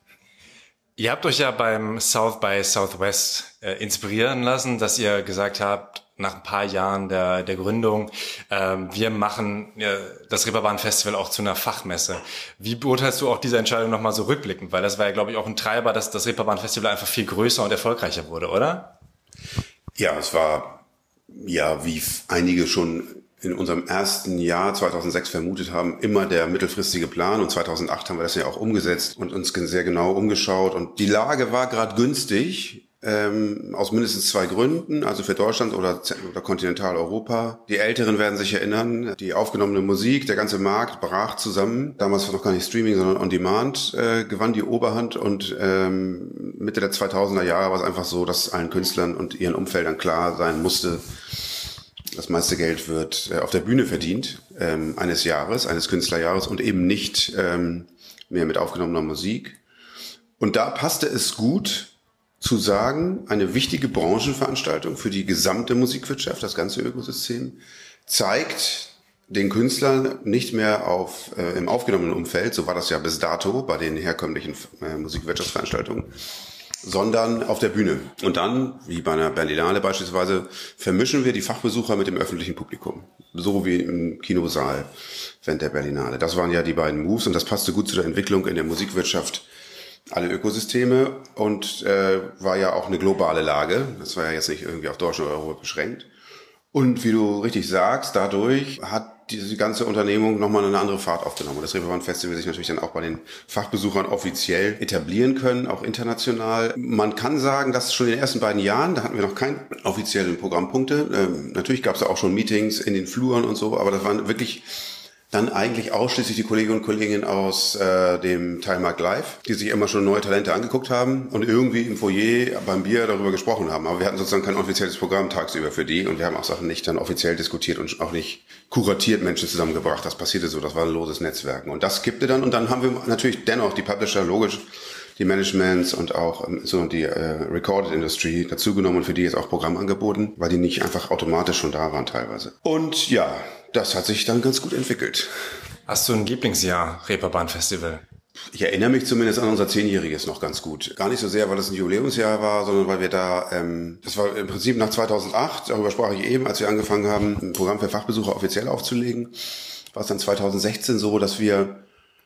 Ihr habt euch ja beim South by Southwest inspirieren lassen, dass ihr gesagt habt, nach ein paar Jahren der Gründung, wir machen das Reeperbahn Festival auch zu einer Fachmesse. Wie beurteilst du auch diese Entscheidung nochmal so rückblickend? Weil das war ja, glaube ich, auch ein Treiber, dass das Reeperbahn Festival einfach viel größer und erfolgreicher wurde, oder? Ja, es war, ja, wie einige schon in unserem ersten Jahr 2006 vermutet haben, immer der mittelfristige Plan. Und 2008 haben wir das ja auch umgesetzt und uns sehr genau umgeschaut. Und die Lage war gerade günstig, aus mindestens 2 Gründen, also für Deutschland oder Kontinentaleuropa. Die Älteren werden sich erinnern, die aufgenommene Musik, der ganze Markt brach zusammen. Damals war noch gar nicht Streaming, sondern On Demand gewann die Oberhand und Mitte der 2000er Jahre war es einfach so, dass allen Künstlern und ihren Umfeldern klar sein musste, das meiste Geld wird auf der Bühne verdient eines Künstlerjahres und eben nicht mehr mit aufgenommener Musik. Und da passte es gut zu sagen, eine wichtige Branchenveranstaltung für die gesamte Musikwirtschaft, das ganze Ökosystem, zeigt den Künstler nicht mehr im aufgenommenen Umfeld, so war das ja bis dato bei den herkömmlichen Musikwirtschaftsveranstaltungen, sondern auf der Bühne. Und dann, wie bei einer Berlinale beispielsweise, vermischen wir die Fachbesucher mit dem öffentlichen Publikum. So wie im Kinosaal während der Berlinale. Das waren ja die beiden Moves und das passte gut zu der Entwicklung in der Musikwirtschaft, alle Ökosysteme, und war ja auch eine globale Lage. Das war ja jetzt nicht irgendwie auf Deutschland oder Europa beschränkt. Und wie du richtig sagst, dadurch hat diese ganze Unternehmung nochmal eine andere Fahrt aufgenommen. Und das Reeperbahn Festival sich natürlich dann auch bei den Fachbesuchern offiziell etablieren können, auch international. Man kann sagen, dass schon in den ersten beiden Jahren, da hatten wir noch keine offiziellen Programmpunkte. Natürlich gab es auch schon Meetings in den Fluren und so, aber das waren wirklich dann eigentlich ausschließlich die Kolleginnen und Kollegen aus dem Teilmarkt Live, die sich immer schon neue Talente angeguckt haben und irgendwie im Foyer beim Bier darüber gesprochen haben. Aber wir hatten sozusagen kein offizielles Programm tagsüber für die und wir haben auch Sachen nicht dann offiziell diskutiert und auch nicht kuratiert Menschen zusammengebracht. Das passierte so, das war ein loses Netzwerken. Und das kippte dann und dann haben wir natürlich dennoch die Publisher, logisch, die Managements und auch so die Recorded Industry dazugenommen und für die jetzt auch Programm angeboten, weil die nicht einfach automatisch schon da waren teilweise. Und ja, das hat sich dann ganz gut entwickelt. Hast du ein Lieblingsjahr Reeperbahn Festival? Ich erinnere mich zumindest an unser 10-jähriges noch ganz gut. Gar nicht so sehr, weil es ein Jubiläumsjahr war, sondern weil wir da, das war im Prinzip nach 2008, darüber sprach ich eben, als wir angefangen haben, ein Programm für Fachbesucher offiziell aufzulegen, war es dann 2016 so, dass wir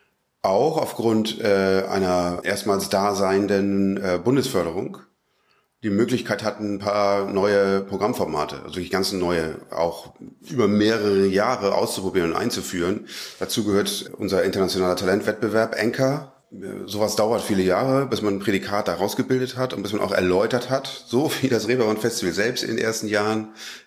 auch aufgrund einer erstmals daseinenden Bundesförderung die Möglichkeit hatten, ein paar neue Programmformate, also wirklich ganz neue, auch über mehrere Jahre auszuprobieren und einzuführen. Dazu gehört unser internationaler Talentwettbewerb Anchor. Sowas dauert viele Jahre, bis man ein Prädikat da rausgebildet hat und bis man auch erläutert hat, so wie das Reeperbahn Festival selbst in den ersten Jahren.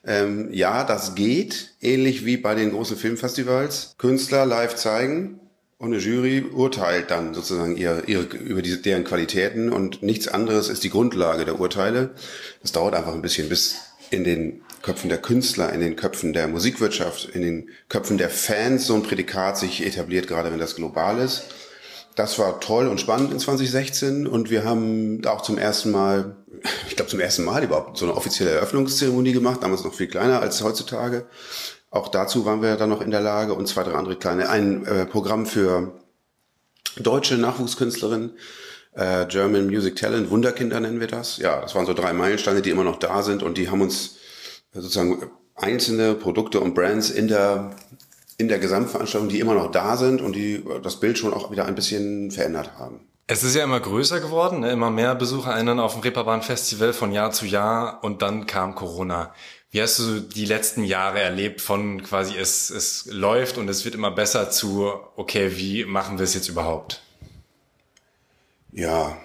Ja, das geht, ähnlich wie bei den großen Filmfestivals. Künstler live zeigen. Und eine Jury urteilt dann sozusagen über deren Qualitäten und nichts anderes ist die Grundlage der Urteile. Das dauert einfach ein bisschen, bis in den Köpfen der Künstler, in den Köpfen der Musikwirtschaft, in den Köpfen der Fans so ein Prädikat sich etabliert, gerade wenn das global ist. Das war toll und spannend in 2016 und wir haben auch zum ersten Mal überhaupt so eine offizielle Eröffnungszeremonie gemacht, damals noch viel kleiner als heutzutage. Auch dazu waren wir dann noch in der Lage und 2, 3 andere kleine. Ein Programm für deutsche Nachwuchskünstlerinnen, German Music Talent, Wunderkinder nennen wir das. Ja, das waren so 3 Meilensteine, die immer noch da sind und die haben uns sozusagen einzelne Produkte und Brands in der Gesamtveranstaltung, die immer noch da sind und die das Bild schon auch wieder ein bisschen verändert haben. Es ist ja immer größer geworden, ne? Immer mehr BesucherInnen auf dem Reeperbahn Festival von Jahr zu Jahr und dann kam Corona. Wie hast du die letzten Jahre erlebt von quasi es läuft und es wird immer besser zu, okay, wie machen wir es jetzt überhaupt? Ja,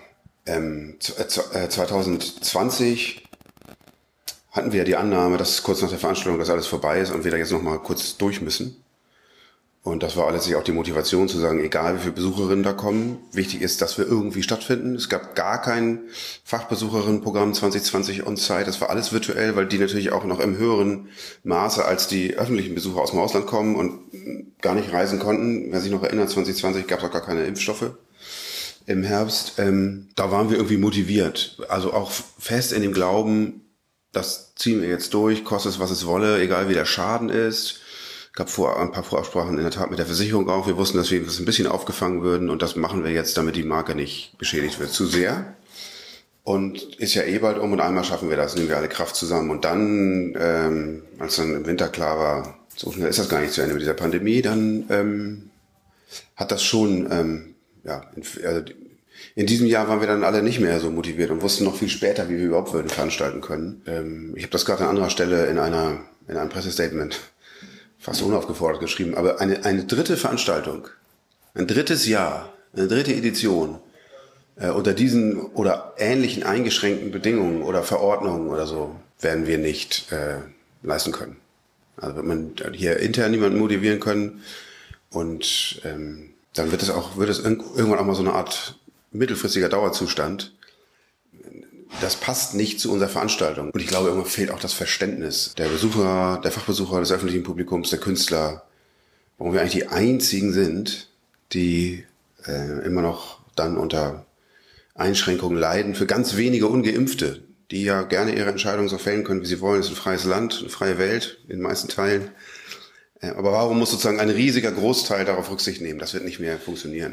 2020 hatten wir die Annahme, dass kurz nach der Veranstaltung das alles vorbei ist und wir da jetzt noch mal kurz durch müssen. Und das war letztlich auch die Motivation zu sagen, egal wie viele Besucherinnen da kommen, wichtig ist, dass wir irgendwie stattfinden. Es gab gar kein Fachbesucherinnenprogramm 2020 on-site. Das war alles virtuell, weil die natürlich auch noch im höheren Maße als die öffentlichen Besucher aus dem Ausland kommen und gar nicht reisen konnten. Wer sich noch erinnert, 2020 gab es auch gar keine Impfstoffe im Herbst. Da waren wir irgendwie motiviert. Also auch fest in dem Glauben, das ziehen wir jetzt durch, kostet es, was es wolle, egal wie der Schaden ist. Gab ein paar Vorabsprachen in der Tat mit der Versicherung auch. Wir wussten, dass wir das ein bisschen aufgefangen würden und das machen wir jetzt, damit die Marke nicht beschädigt wird zu sehr. Und ist ja bald um und einmal schaffen wir das, nehmen wir alle Kraft zusammen. Und dann, als dann im Winter klar war, so schnell ist das gar nicht zu Ende mit dieser Pandemie, dann hat das schon, in diesem Jahr waren wir dann alle nicht mehr so motiviert und wussten noch viel später, wie wir überhaupt würden veranstalten können. Ich habe das gerade an anderer Stelle in einem Pressestatement fast unaufgefordert geschrieben, aber eine dritte Veranstaltung, ein drittes Jahr, eine dritte Edition Unter diesen oder ähnlichen eingeschränkten Bedingungen oder Verordnungen oder so werden wir nicht leisten können. Also wird man hier intern niemanden motivieren können und dann wird es irgendwann auch mal so eine Art mittelfristiger Dauerzustand. Das passt nicht zu unserer Veranstaltung. Und ich glaube, irgendwann fehlt auch das Verständnis der Besucher, der Fachbesucher, des öffentlichen Publikums, der Künstler, warum wir eigentlich die einzigen sind, die immer noch dann unter Einschränkungen leiden für ganz wenige Ungeimpfte, die ja gerne ihre Entscheidungen so fällen können, wie sie wollen. Es ist ein freies Land, eine freie Welt in den meisten Teilen. Aber warum muss sozusagen ein riesiger Großteil darauf Rücksicht nehmen? Das wird nicht mehr funktionieren.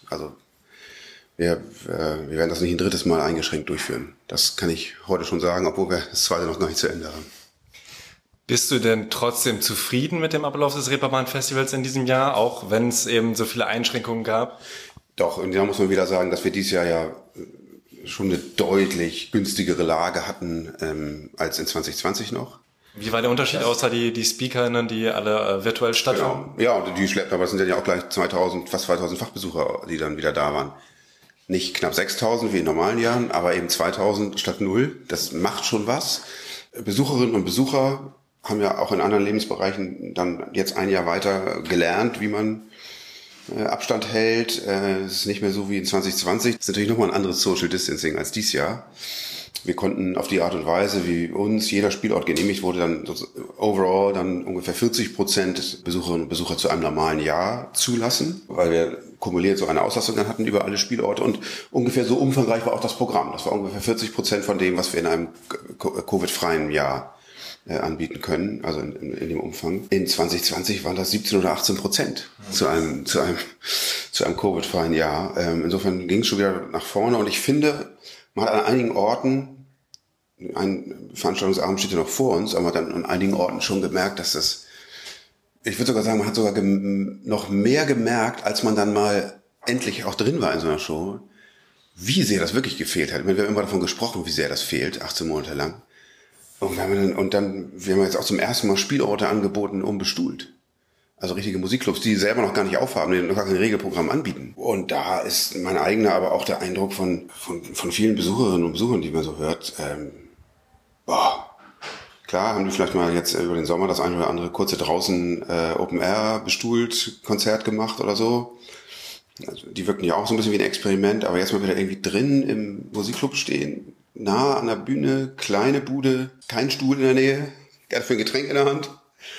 Wir werden das nicht ein drittes Mal eingeschränkt durchführen. Das kann ich heute schon sagen, obwohl wir das zweite noch gar nicht zu Ende haben. Bist du denn trotzdem zufrieden mit dem Ablauf des Reeperbahn-Festivals in diesem Jahr, auch wenn es eben so viele Einschränkungen gab? Doch, und da muss man wieder sagen, dass wir dieses Jahr ja schon eine deutlich günstigere Lage hatten als in 2020 noch. Wie war der Unterschied, außer die SpeakerInnen, die alle virtuell stattfanden? Genau. Ja, und die schleppen, aber es sind ja auch gleich fast 2000 Fachbesucher, die dann wieder da waren. Nicht knapp 6000 wie in normalen Jahren, aber eben 2000 statt 0. Das macht schon was. Besucherinnen und Besucher haben ja auch in anderen Lebensbereichen dann jetzt ein Jahr weiter gelernt, wie man Abstand hält. Es ist nicht mehr so wie in 2020. Es ist natürlich nochmal ein anderes Social Distancing als dieses Jahr. Wir konnten auf die Art und Weise, wie uns jeder Spielort genehmigt wurde, dann overall dann ungefähr 40% Besucherinnen und Besucher zu einem normalen Jahr zulassen, weil wir kumuliert so eine Auslastung dann hatten über alle Spielorte und ungefähr so umfangreich war auch das Programm. Das war ungefähr 40% von dem, was wir in einem Covid-freien Jahr anbieten können, also in dem Umfang. In 2020 waren das 17 oder 18% zu einem Covid-freien Jahr. Insofern ging es schon wieder nach vorne und ich finde, man hat an einigen Orten, ein Veranstaltungsabend steht ja noch vor uns, aber man hat dann an einigen Orten schon gemerkt, dass das, ich würde sogar sagen, man hat sogar noch mehr gemerkt, als man dann mal endlich auch drin war in so einer Show, wie sehr das wirklich gefehlt hat. Wir haben immer davon gesprochen, wie sehr das fehlt, 18 Monate lang. Und wir haben jetzt auch zum ersten Mal Spielorte angeboten, unbestuhlt. Also richtige Musikclubs, die selber noch gar nicht aufhaben, die noch gar kein Regelprogramm anbieten. Und da ist mein eigener, aber auch der Eindruck von vielen Besucherinnen und Besuchern, die man so hört, klar haben die vielleicht mal jetzt über den Sommer das eine oder andere kurze draußen Open Air bestuhlt Konzert gemacht oder so. Also die wirken ja auch so ein bisschen wie ein Experiment, aber jetzt mal wieder irgendwie drin im Musikclub stehen, nah an der Bühne, kleine Bude, kein Stuhl in der Nähe, dafür ein Getränk in der Hand.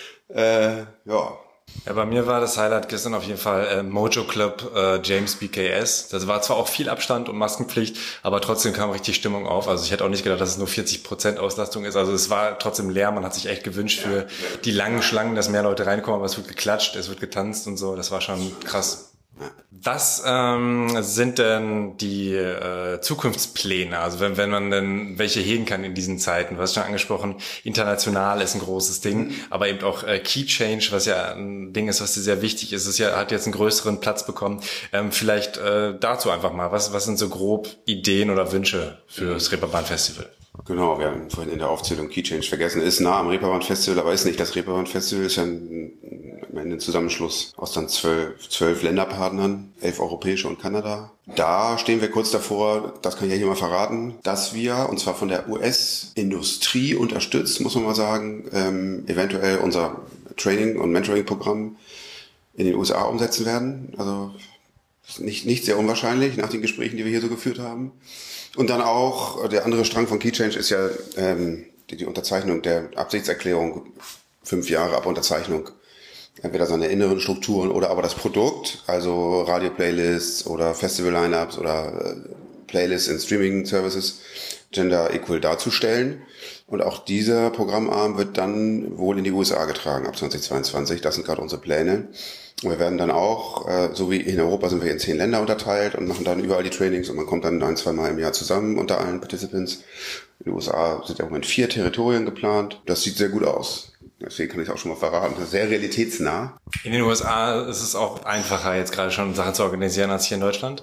Ja, bei mir war das Highlight gestern auf jeden Fall Mojo Club James BKS. Das war zwar auch viel Abstand und Maskenpflicht, aber trotzdem kam richtig Stimmung auf. Also ich hätte auch nicht gedacht, dass es nur 40% Auslastung ist. Also es war trotzdem leer. Man hat sich echt gewünscht für die langen Schlangen, dass mehr Leute reinkommen. Aber es wird geklatscht, es wird getanzt und so. Das war schon krass. Was sind denn die Zukunftspläne? Also wenn man denn welche hegen kann in diesen Zeiten? Du hast schon angesprochen, international ist ein großes Ding, aber eben auch Key Change, was ja ein Ding ist, was dir sehr wichtig ist. Es hat jetzt einen größeren Platz bekommen. Vielleicht dazu einfach mal, was sind so grob Ideen oder Wünsche für das Reeperbahn Festival? Genau, wir haben vorhin in der Aufzählung Key Change vergessen. Ist nah am Reeperbahn Festival, aber ist nicht das Reeperbahn Festival, ist ja am Ende ein Zusammenschluss aus dann 12 Länderpartnern, 11 europäische und Kanada. Da stehen wir kurz davor, das kann ich ja hier mal verraten, dass wir, und zwar von der US-Industrie unterstützt, muss man mal sagen, eventuell unser Training- und Mentoring-Programm in den USA umsetzen werden. Also nicht sehr unwahrscheinlich nach den Gesprächen, die wir hier so geführt haben. Und dann auch, der andere Strang von Key Change ist ja die Unterzeichnung der Absichtserklärung, 5 Jahre ab Unterzeichnung. Entweder seine inneren Strukturen oder aber das Produkt, also Radio-Playlists oder Festival-Lineups oder Playlists in Streaming-Services, gender equal darzustellen. Und auch dieser Programmarm wird dann wohl in die USA getragen ab 2022. Das sind gerade unsere Pläne. Und wir werden dann auch, so wie in Europa sind wir in 10 Länder unterteilt und machen dann überall die Trainings und man kommt dann 1-2 Mal im Jahr zusammen unter allen Participants. In den USA sind ja im Moment 4 Territorien geplant. Das sieht sehr gut aus. Deswegen kann ich auch schon mal verraten, das ist sehr realitätsnah. In den USA ist es auch einfacher, jetzt gerade schon Sachen zu organisieren, als hier in Deutschland?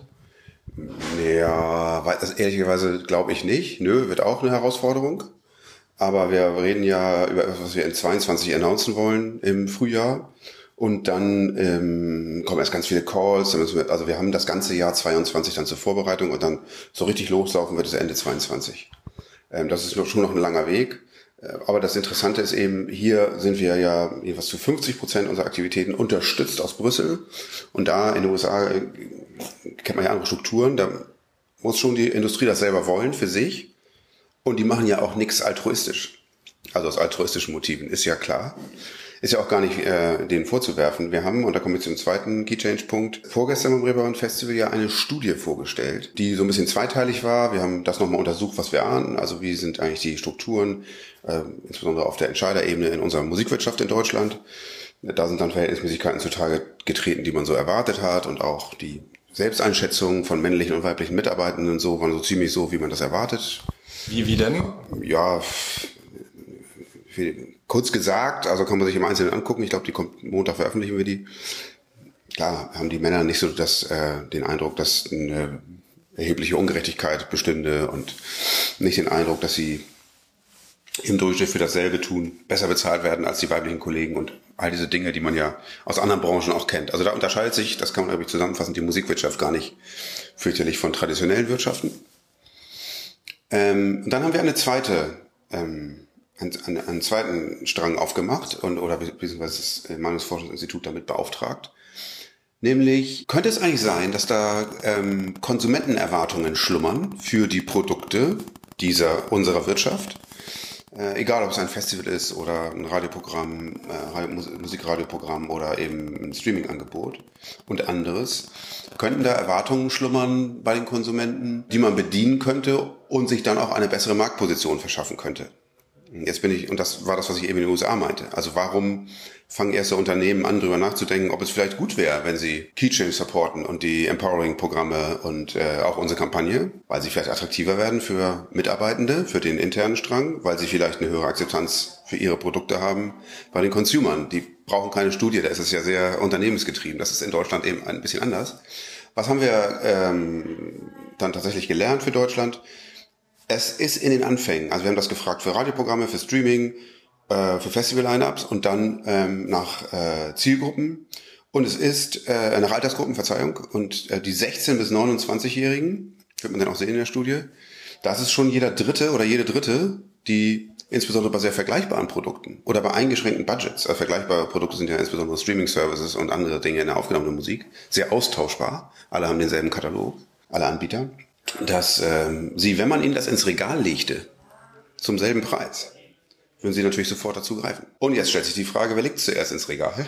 Ja, ehrlicherweise glaube ich nicht. Wird auch eine Herausforderung. Aber wir reden ja über etwas, was wir in 22 announcen wollen im Frühjahr. Und dann kommen erst ganz viele Calls. Also wir haben das ganze Jahr 22 dann zur Vorbereitung und dann so richtig loslaufen wird es Ende 22. Das ist schon noch ein langer Weg. Aber das Interessante ist eben, hier sind wir ja jeweils zu 50% unserer Aktivitäten unterstützt aus Brüssel. Und da in den USA kennt man ja andere Strukturen. Da muss schon die Industrie das selber wollen für sich. Und die machen ja auch nichts altruistisch. Also aus altruistischen Motiven, ist ja klar. Ist ja auch gar nicht denen vorzuwerfen. Wir haben, und da kommen wir zum zweiten Key-Change-Punkt, vorgestern beim Reeperbahn Festival ja eine Studie vorgestellt, die so ein bisschen zweiteilig war. Wir haben das nochmal untersucht, was wir ahnen. Also wie sind eigentlich die Strukturen, insbesondere auf der Entscheiderebene in unserer Musikwirtschaft in Deutschland. Da sind dann Verhältnismäßigkeiten zutage getreten, die man so erwartet hat, und auch die Selbsteinschätzung von männlichen und weiblichen Mitarbeitenden so waren so ziemlich so, wie man das erwartet. Wie denn? Ja, kurz gesagt, also kann man sich im Einzelnen angucken. Ich glaube, die kommt Montag, veröffentlichen wir die. Klar haben die Männer nicht so den Eindruck, dass eine erhebliche Ungerechtigkeit bestünde, und nicht den Eindruck, dass sie im Durchschnitt für dasselbe tun, besser bezahlt werden als die weiblichen Kollegen und all diese Dinge, die man ja aus anderen Branchen auch kennt. Also da unterscheidet sich, das kann man, glaube ich, zusammenfassen, die Musikwirtschaft gar nicht fürchterlich von traditionellen Wirtschaften. Und dann haben wir einen zweiten Strang aufgemacht oder beziehungsweise das Meinungsforschungsinstitut damit beauftragt. Nämlich, könnte es eigentlich sein, dass da Konsumentenerwartungen schlummern für die Produkte unserer Wirtschaft? Egal, ob es ein Festival ist oder ein Radioprogramm, Musikradioprogramm oder eben ein Streamingangebot und anderes. Könnten da Erwartungen schlummern bei den Konsumenten, die man bedienen könnte und sich dann auch eine bessere Marktposition verschaffen könnte? Und das war das, was ich eben in den USA meinte. Also warum fangen erste Unternehmen an, darüber nachzudenken, ob es vielleicht gut wäre, wenn sie Keychain supporten und die Empowering-Programme und auch unsere Kampagne, weil sie vielleicht attraktiver werden für Mitarbeitende, für den internen Strang, weil sie vielleicht eine höhere Akzeptanz für ihre Produkte haben bei den Consumern. Die brauchen keine Studie, da ist es ja sehr unternehmensgetrieben. Das ist in Deutschland eben ein bisschen anders. Was haben wir dann tatsächlich gelernt für Deutschland? Es ist in den Anfängen, also wir haben das gefragt für Radioprogramme, für Streaming, für Festival-Line-Ups und dann nach Zielgruppen. Und es ist nach Altersgruppen, Verzeihung, und die 16- bis 29-Jährigen, wird man dann auch sehen in der Studie, das ist schon jeder Dritte oder jede Dritte, die insbesondere bei sehr vergleichbaren Produkten oder bei eingeschränkten Budgets, vergleichbare Produkte sind ja insbesondere Streaming-Services und andere Dinge in der aufgenommenen Musik, sehr austauschbar, alle haben denselben Katalog, alle Anbieter, dass sie, wenn man ihnen das ins Regal legte, zum selben Preis, würden sie natürlich sofort dazu greifen. Und jetzt stellt sich die Frage, wer legt zuerst ins Regal?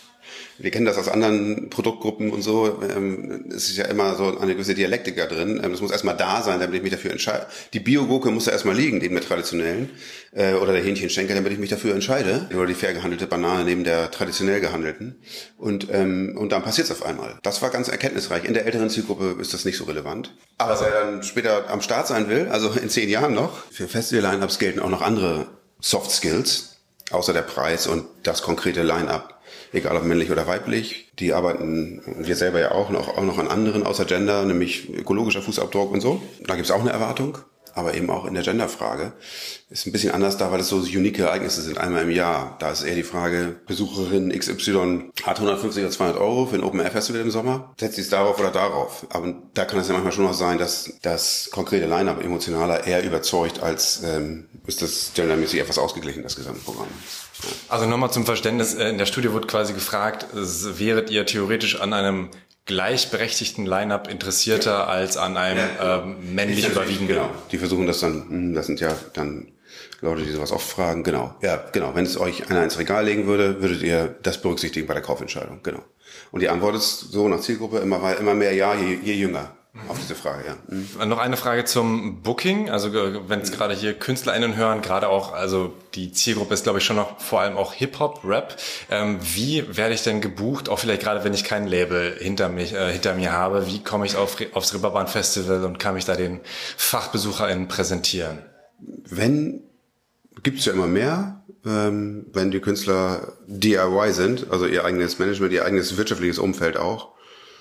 Wir kennen das aus anderen Produktgruppen und so. Es ist ja immer so eine gewisse Dialektik da drin. Das muss erstmal da sein, damit ich mich dafür entscheide. Die Bio-Gurke muss da erstmal liegen, neben der traditionellen. Oder der Hähnchenschenkel, damit ich mich dafür entscheide. Oder die fair gehandelte Banane neben der traditionell gehandelten. Und dann passiert es auf einmal. Das war ganz erkenntnisreich. In der älteren Zielgruppe ist das nicht so relevant. Aber wer dann später am Start sein will, also in 10 Jahren noch, für Festival-Line-Ups gelten auch noch andere Soft Skills, außer der Preis und das konkrete Line-Up. Egal ob männlich oder weiblich, die arbeiten, und wir selber ja auch noch an anderen außer Gender, nämlich ökologischer Fußabdruck und so. Da gibt es auch eine Erwartung, aber eben auch in der Genderfrage. Ist ein bisschen anders da, weil es so unique Ereignisse sind, einmal im Jahr. Da ist eher die Frage, Besucherin XY hat 150 oder 200 Euro für ein Open-Air-Festival im Sommer. Setzt sie es darauf oder darauf? Aber da kann es ja manchmal schon noch sein, dass das konkrete Line-Up emotionaler eher überzeugt, als ist das gendermäßig etwas ausgeglichen, das gesamte Programm. Also nochmal zum Verständnis, in der Studie wurde quasi gefragt, wäret ihr theoretisch an einem gleichberechtigten Line-Up interessierter als an einem männlich überwiegenden? Genau, die versuchen das dann, das sind ja dann Leute, die sowas oft fragen, genau. Ja, genau, wenn es euch einer ins Regal legen würde, würdet ihr das berücksichtigen bei der Kaufentscheidung, genau. Und die Antwort ist so nach Zielgruppe immer mehr ja, je jünger. Auf diese Frage, ja. Mhm. Noch eine Frage zum Booking. Also wenn es gerade hier KünstlerInnen hören, gerade auch, also die Zielgruppe ist, glaube ich, schon noch vor allem auch Hip-Hop, Rap. Wie werde ich denn gebucht? Auch vielleicht gerade, wenn ich kein Label hinter mir habe. Wie komme ich aufs Reeperbahn Festival und kann mich da den FachbesucherInnen präsentieren? Gibt's ja immer mehr, wenn die Künstler DIY sind, also ihr eigenes Management, ihr eigenes wirtschaftliches Umfeld auch,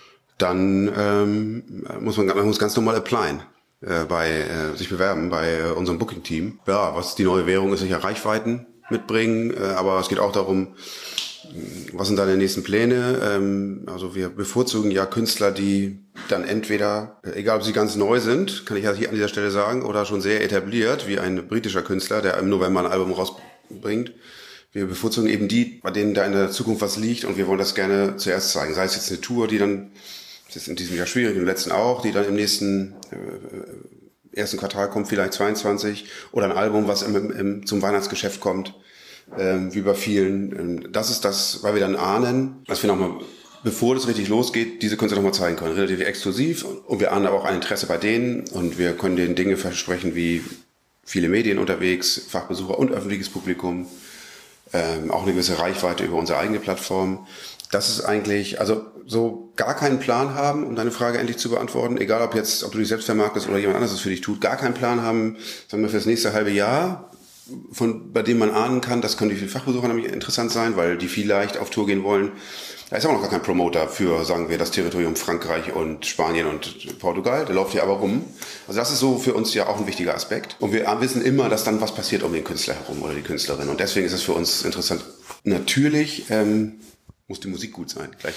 dann muss man ganz normal applyen, sich bewerben bei unserem Booking-Team. Ja, was die neue Währung ist, sicher Reichweiten mitbringen, aber es geht auch darum, Was sind deine nächsten Pläne? Also wir bevorzugen ja Künstler, die dann entweder, egal ob sie ganz neu sind, kann ich ja hier an dieser Stelle sagen, oder schon sehr etabliert, wie ein britischer Künstler, der im November ein Album rausbringt. Wir bevorzugen eben die, bei denen da in der Zukunft was liegt, und wir wollen das gerne zuerst zeigen. Sei es jetzt eine Tour, die dann, das ist in diesem Jahr schwierig, im letzten auch, die dann im nächsten ersten Quartal kommt, vielleicht 22, oder ein Album, was zum Weihnachtsgeschäft kommt. Wie bei vielen. Das ist das, weil wir dann ahnen, dass wir nochmal, bevor das richtig losgeht, diese Künstler nochmal zeigen können. Relativ exklusiv. Und wir ahnen aber auch ein Interesse bei denen. Und wir können denen Dinge versprechen wie viele Medien unterwegs, Fachbesucher und öffentliches Publikum. Auch eine gewisse Reichweite über unsere eigene Plattform. Das ist eigentlich, also so gar keinen Plan haben, um deine Frage endlich zu beantworten. Egal ob du dich selbst vermarktest oder jemand anderes es für dich tut. Gar keinen Plan haben, sagen wir, für das nächste halbe Jahr, bei dem man ahnen kann, das können die Fachbesucher nämlich interessant sein, weil die vielleicht auf Tour gehen wollen. Da ist auch noch gar kein Promoter für, sagen wir, das Territorium Frankreich und Spanien und Portugal. Der läuft hier aber rum. Also das ist so für uns ja auch ein wichtiger Aspekt. Und wir wissen immer, dass dann was passiert um den Künstler herum oder die Künstlerin. Und deswegen ist es für uns interessant. Natürlich muss die Musik gut sein. Gleich.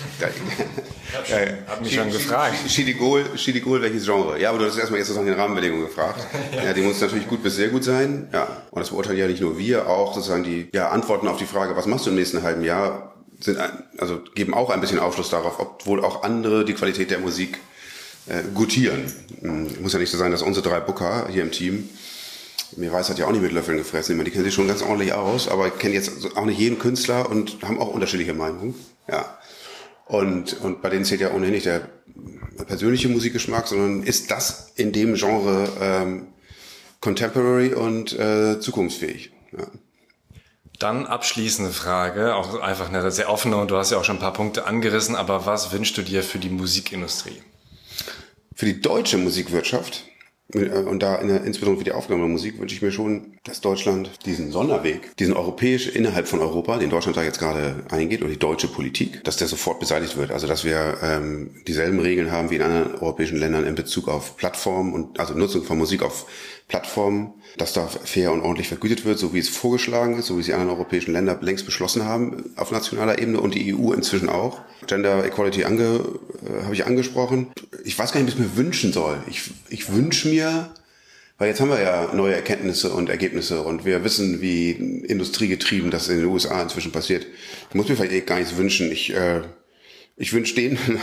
Hab mich schon gefragt. Chili Gold, welches Genre? Ja, aber du hast erstmal jetzt sozusagen den Rahmenbedingungen gefragt. Ja, die muss natürlich gut bis sehr gut sein. Ja, und das beurteilen ja nicht nur wir, auch sozusagen die Antworten auf die Frage, was machst du im nächsten halben Jahr, geben auch ein bisschen Aufschluss darauf, ob wohl auch andere die Qualität der Musik gutieren. Muss ja nicht so sein, dass unsere 3 Booker hier im Team, mir weiß, hat ja auch nicht mit Löffeln gefressen. Die kennen sich schon ganz ordentlich aus, aber kennen jetzt auch nicht jeden Künstler und haben auch unterschiedliche Meinungen. Ja. Und bei denen zählt ja ohnehin nicht der persönliche Musikgeschmack, sondern ist das in dem Genre contemporary und zukunftsfähig. Ja. Dann abschließende Frage, auch einfach eine sehr offene, und du hast ja auch schon ein paar Punkte angerissen, aber was wünschst du dir für die Musikindustrie? Für die deutsche Musikwirtschaft und da insbesondere für die aufgenommene Musik wünsche ich mir schon, dass Deutschland diesen Sonderweg, diesen europäisch innerhalb von Europa, den Deutschland da jetzt gerade eingeht, und die deutsche Politik, dass der sofort beseitigt wird. Also dass wir dieselben Regeln haben wie in anderen europäischen Ländern in Bezug auf Plattformen und also Nutzung von Musik auf Plattformen, dass da fair und ordentlich vergütet wird, so wie es vorgeschlagen ist, so wie es die anderen europäischen Länder längst beschlossen haben auf nationaler Ebene und die EU inzwischen auch. Gender Equality habe ich angesprochen. Ich weiß gar nicht, was ich mir wünschen soll. Ich wünsche mir, weil jetzt haben wir ja neue Erkenntnisse und Ergebnisse und wir wissen, wie industriegetrieben das in den USA inzwischen passiert. Ich muss mir vielleicht gar nichts wünschen. Ich wünsche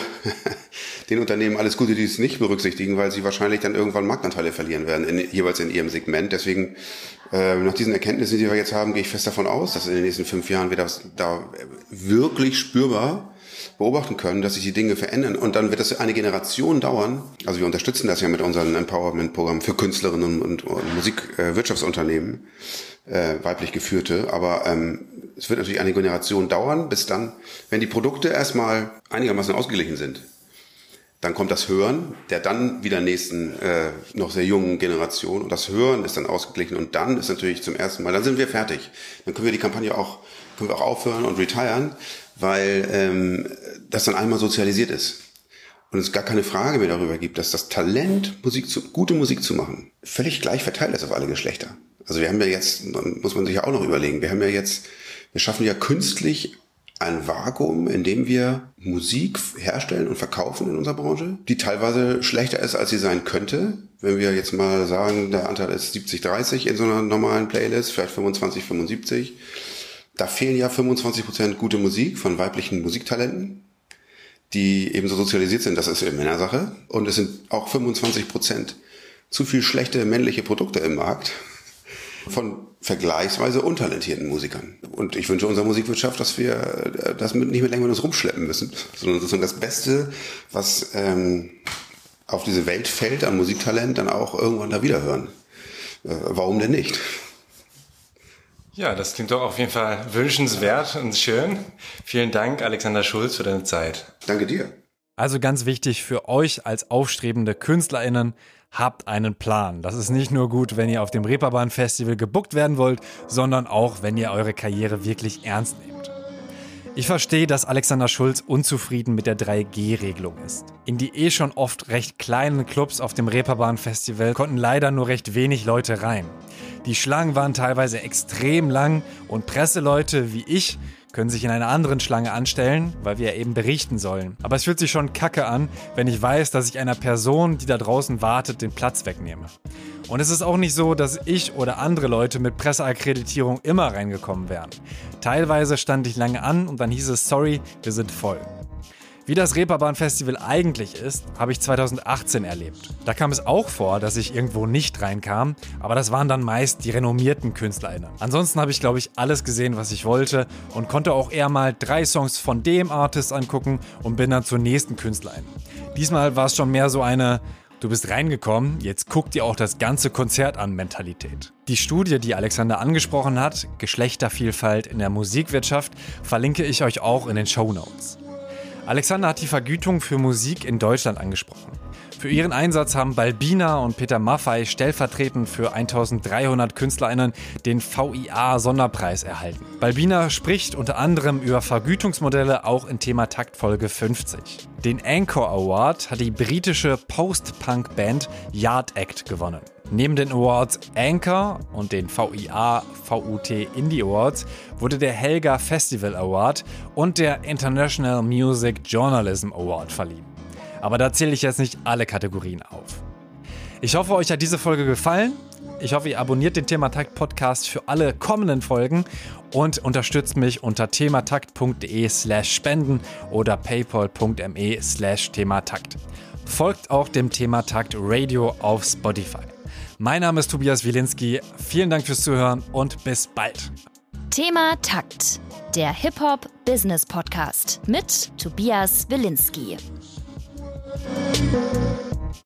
den Unternehmen alles Gute, die es nicht berücksichtigen, weil sie wahrscheinlich dann irgendwann Marktanteile verlieren werden, jeweils in ihrem Segment. Deswegen, nach diesen Erkenntnissen, die wir jetzt haben, gehe ich fest davon aus, dass in den nächsten 5 Jahren wir das da wirklich spürbar beobachten können, dass sich die Dinge verändern. Und dann wird das eine Generation dauern. Also wir unterstützen das ja mit unserem Empowerment-Programm für Künstlerinnen und Musikwirtschaftsunternehmen, weiblich geführte. Aber es wird natürlich eine Generation dauern, bis dann, wenn die Produkte erstmal einigermaßen ausgeglichen sind, dann kommt das Hören der dann wieder nächsten, noch sehr jungen Generation. Und das Hören ist dann ausgeglichen. Und dann ist natürlich zum ersten Mal, dann sind wir fertig. Dann können wir die Kampagne auch aufhören und retiren, weil das dann einmal sozialisiert ist. Und es gar keine Frage mehr darüber gibt, dass das Talent, gute Musik zu machen, völlig gleich verteilt ist auf alle Geschlechter. Also wir haben ja jetzt, muss man sich ja auch noch überlegen, wir schaffen ja künstlich ein Vakuum, in dem wir Musik herstellen und verkaufen in unserer Branche, die teilweise schlechter ist, als sie sein könnte. Wenn wir jetzt mal sagen, der Anteil ist 70-30 in so einer normalen Playlist, vielleicht 25-75. Da fehlen ja 25% gute Musik von weiblichen Musiktalenten, die ebenso sozialisiert sind. Das ist eine Männersache. Und es sind auch 25% zu viel schlechte männliche Produkte im Markt von vergleichsweise untalentierten Musikern. Und ich wünsche unserer Musikwirtschaft, dass wir das nicht mehr länger mit uns rumschleppen müssen, sondern sozusagen das Beste, was auf diese Welt fällt an Musiktalent, dann auch irgendwann da wieder hören. Warum denn nicht? Ja, das klingt doch auf jeden Fall wünschenswert und schön. Vielen Dank, Alexander Schulz, für deine Zeit. Danke dir. Also ganz wichtig für euch als aufstrebende KünstlerInnen, habt einen Plan. Das ist nicht nur gut, wenn ihr auf dem Reeperbahn Festival gebookt werden wollt, sondern auch, wenn ihr eure Karriere wirklich ernst nehmt. Ich verstehe, dass Alexander Schulz unzufrieden mit der 3G-Regelung ist. In die schon oft recht kleinen Clubs auf dem Reeperbahn-Festival konnten leider nur recht wenig Leute rein. Die Schlangen waren teilweise extrem lang und Presseleute wie ich können sich in einer anderen Schlange anstellen, weil wir ja eben berichten sollen. Aber es fühlt sich schon kacke an, wenn ich weiß, dass ich einer Person, die da draußen wartet, den Platz wegnehme. Und es ist auch nicht so, dass ich oder andere Leute mit Presseakkreditierung immer reingekommen wären. Teilweise stand ich lange an und dann hieß es, sorry, wir sind voll. Wie das Reeperbahn-Festival eigentlich ist, habe ich 2018 erlebt. Da kam es auch vor, dass ich irgendwo nicht reinkam, aber das waren dann meist die renommierten KünstlerInnen. Ansonsten habe ich, glaube ich, alles gesehen, was ich wollte und konnte auch eher mal 3 Songs von dem Artist angucken und bin dann zur nächsten KünstlerIn. Diesmal war es schon mehr so eine Du bist reingekommen, jetzt guck dir auch das ganze Konzert an Mentalität. Die Studie, die Alexander angesprochen hat, Geschlechtervielfalt in der Musikwirtschaft, verlinke ich euch auch in den Shownotes. Alexander hat die Vergütung für Musik in Deutschland angesprochen. Für ihren Einsatz haben Balbina und Peter Maffay stellvertretend für 1300 KünstlerInnen den VIA-Sonderpreis erhalten. Balbina spricht unter anderem über Vergütungsmodelle auch in Thema Takt Folge 50. Den Anchor Award hat die britische Post-Punk-Band Yard Act gewonnen. Neben den Awards Anchor und den VIA-VUT Indie Awards wurde der Helga Festival Award und der International Music Journalism Award verliehen. Aber da zähle ich jetzt nicht alle Kategorien auf. Ich hoffe, euch hat diese Folge gefallen. Ich hoffe, ihr abonniert den Thematakt Podcast für alle kommenden Folgen und unterstützt mich unter thematakt.de/spenden oder paypal.me/thematakt. Folgt auch dem Thematakt Radio auf Spotify. Mein Name ist Tobias Wilinski. Vielen Dank fürs Zuhören und bis bald. Thema Takt, der Hip-Hop-Business-Podcast mit Tobias Wilinski.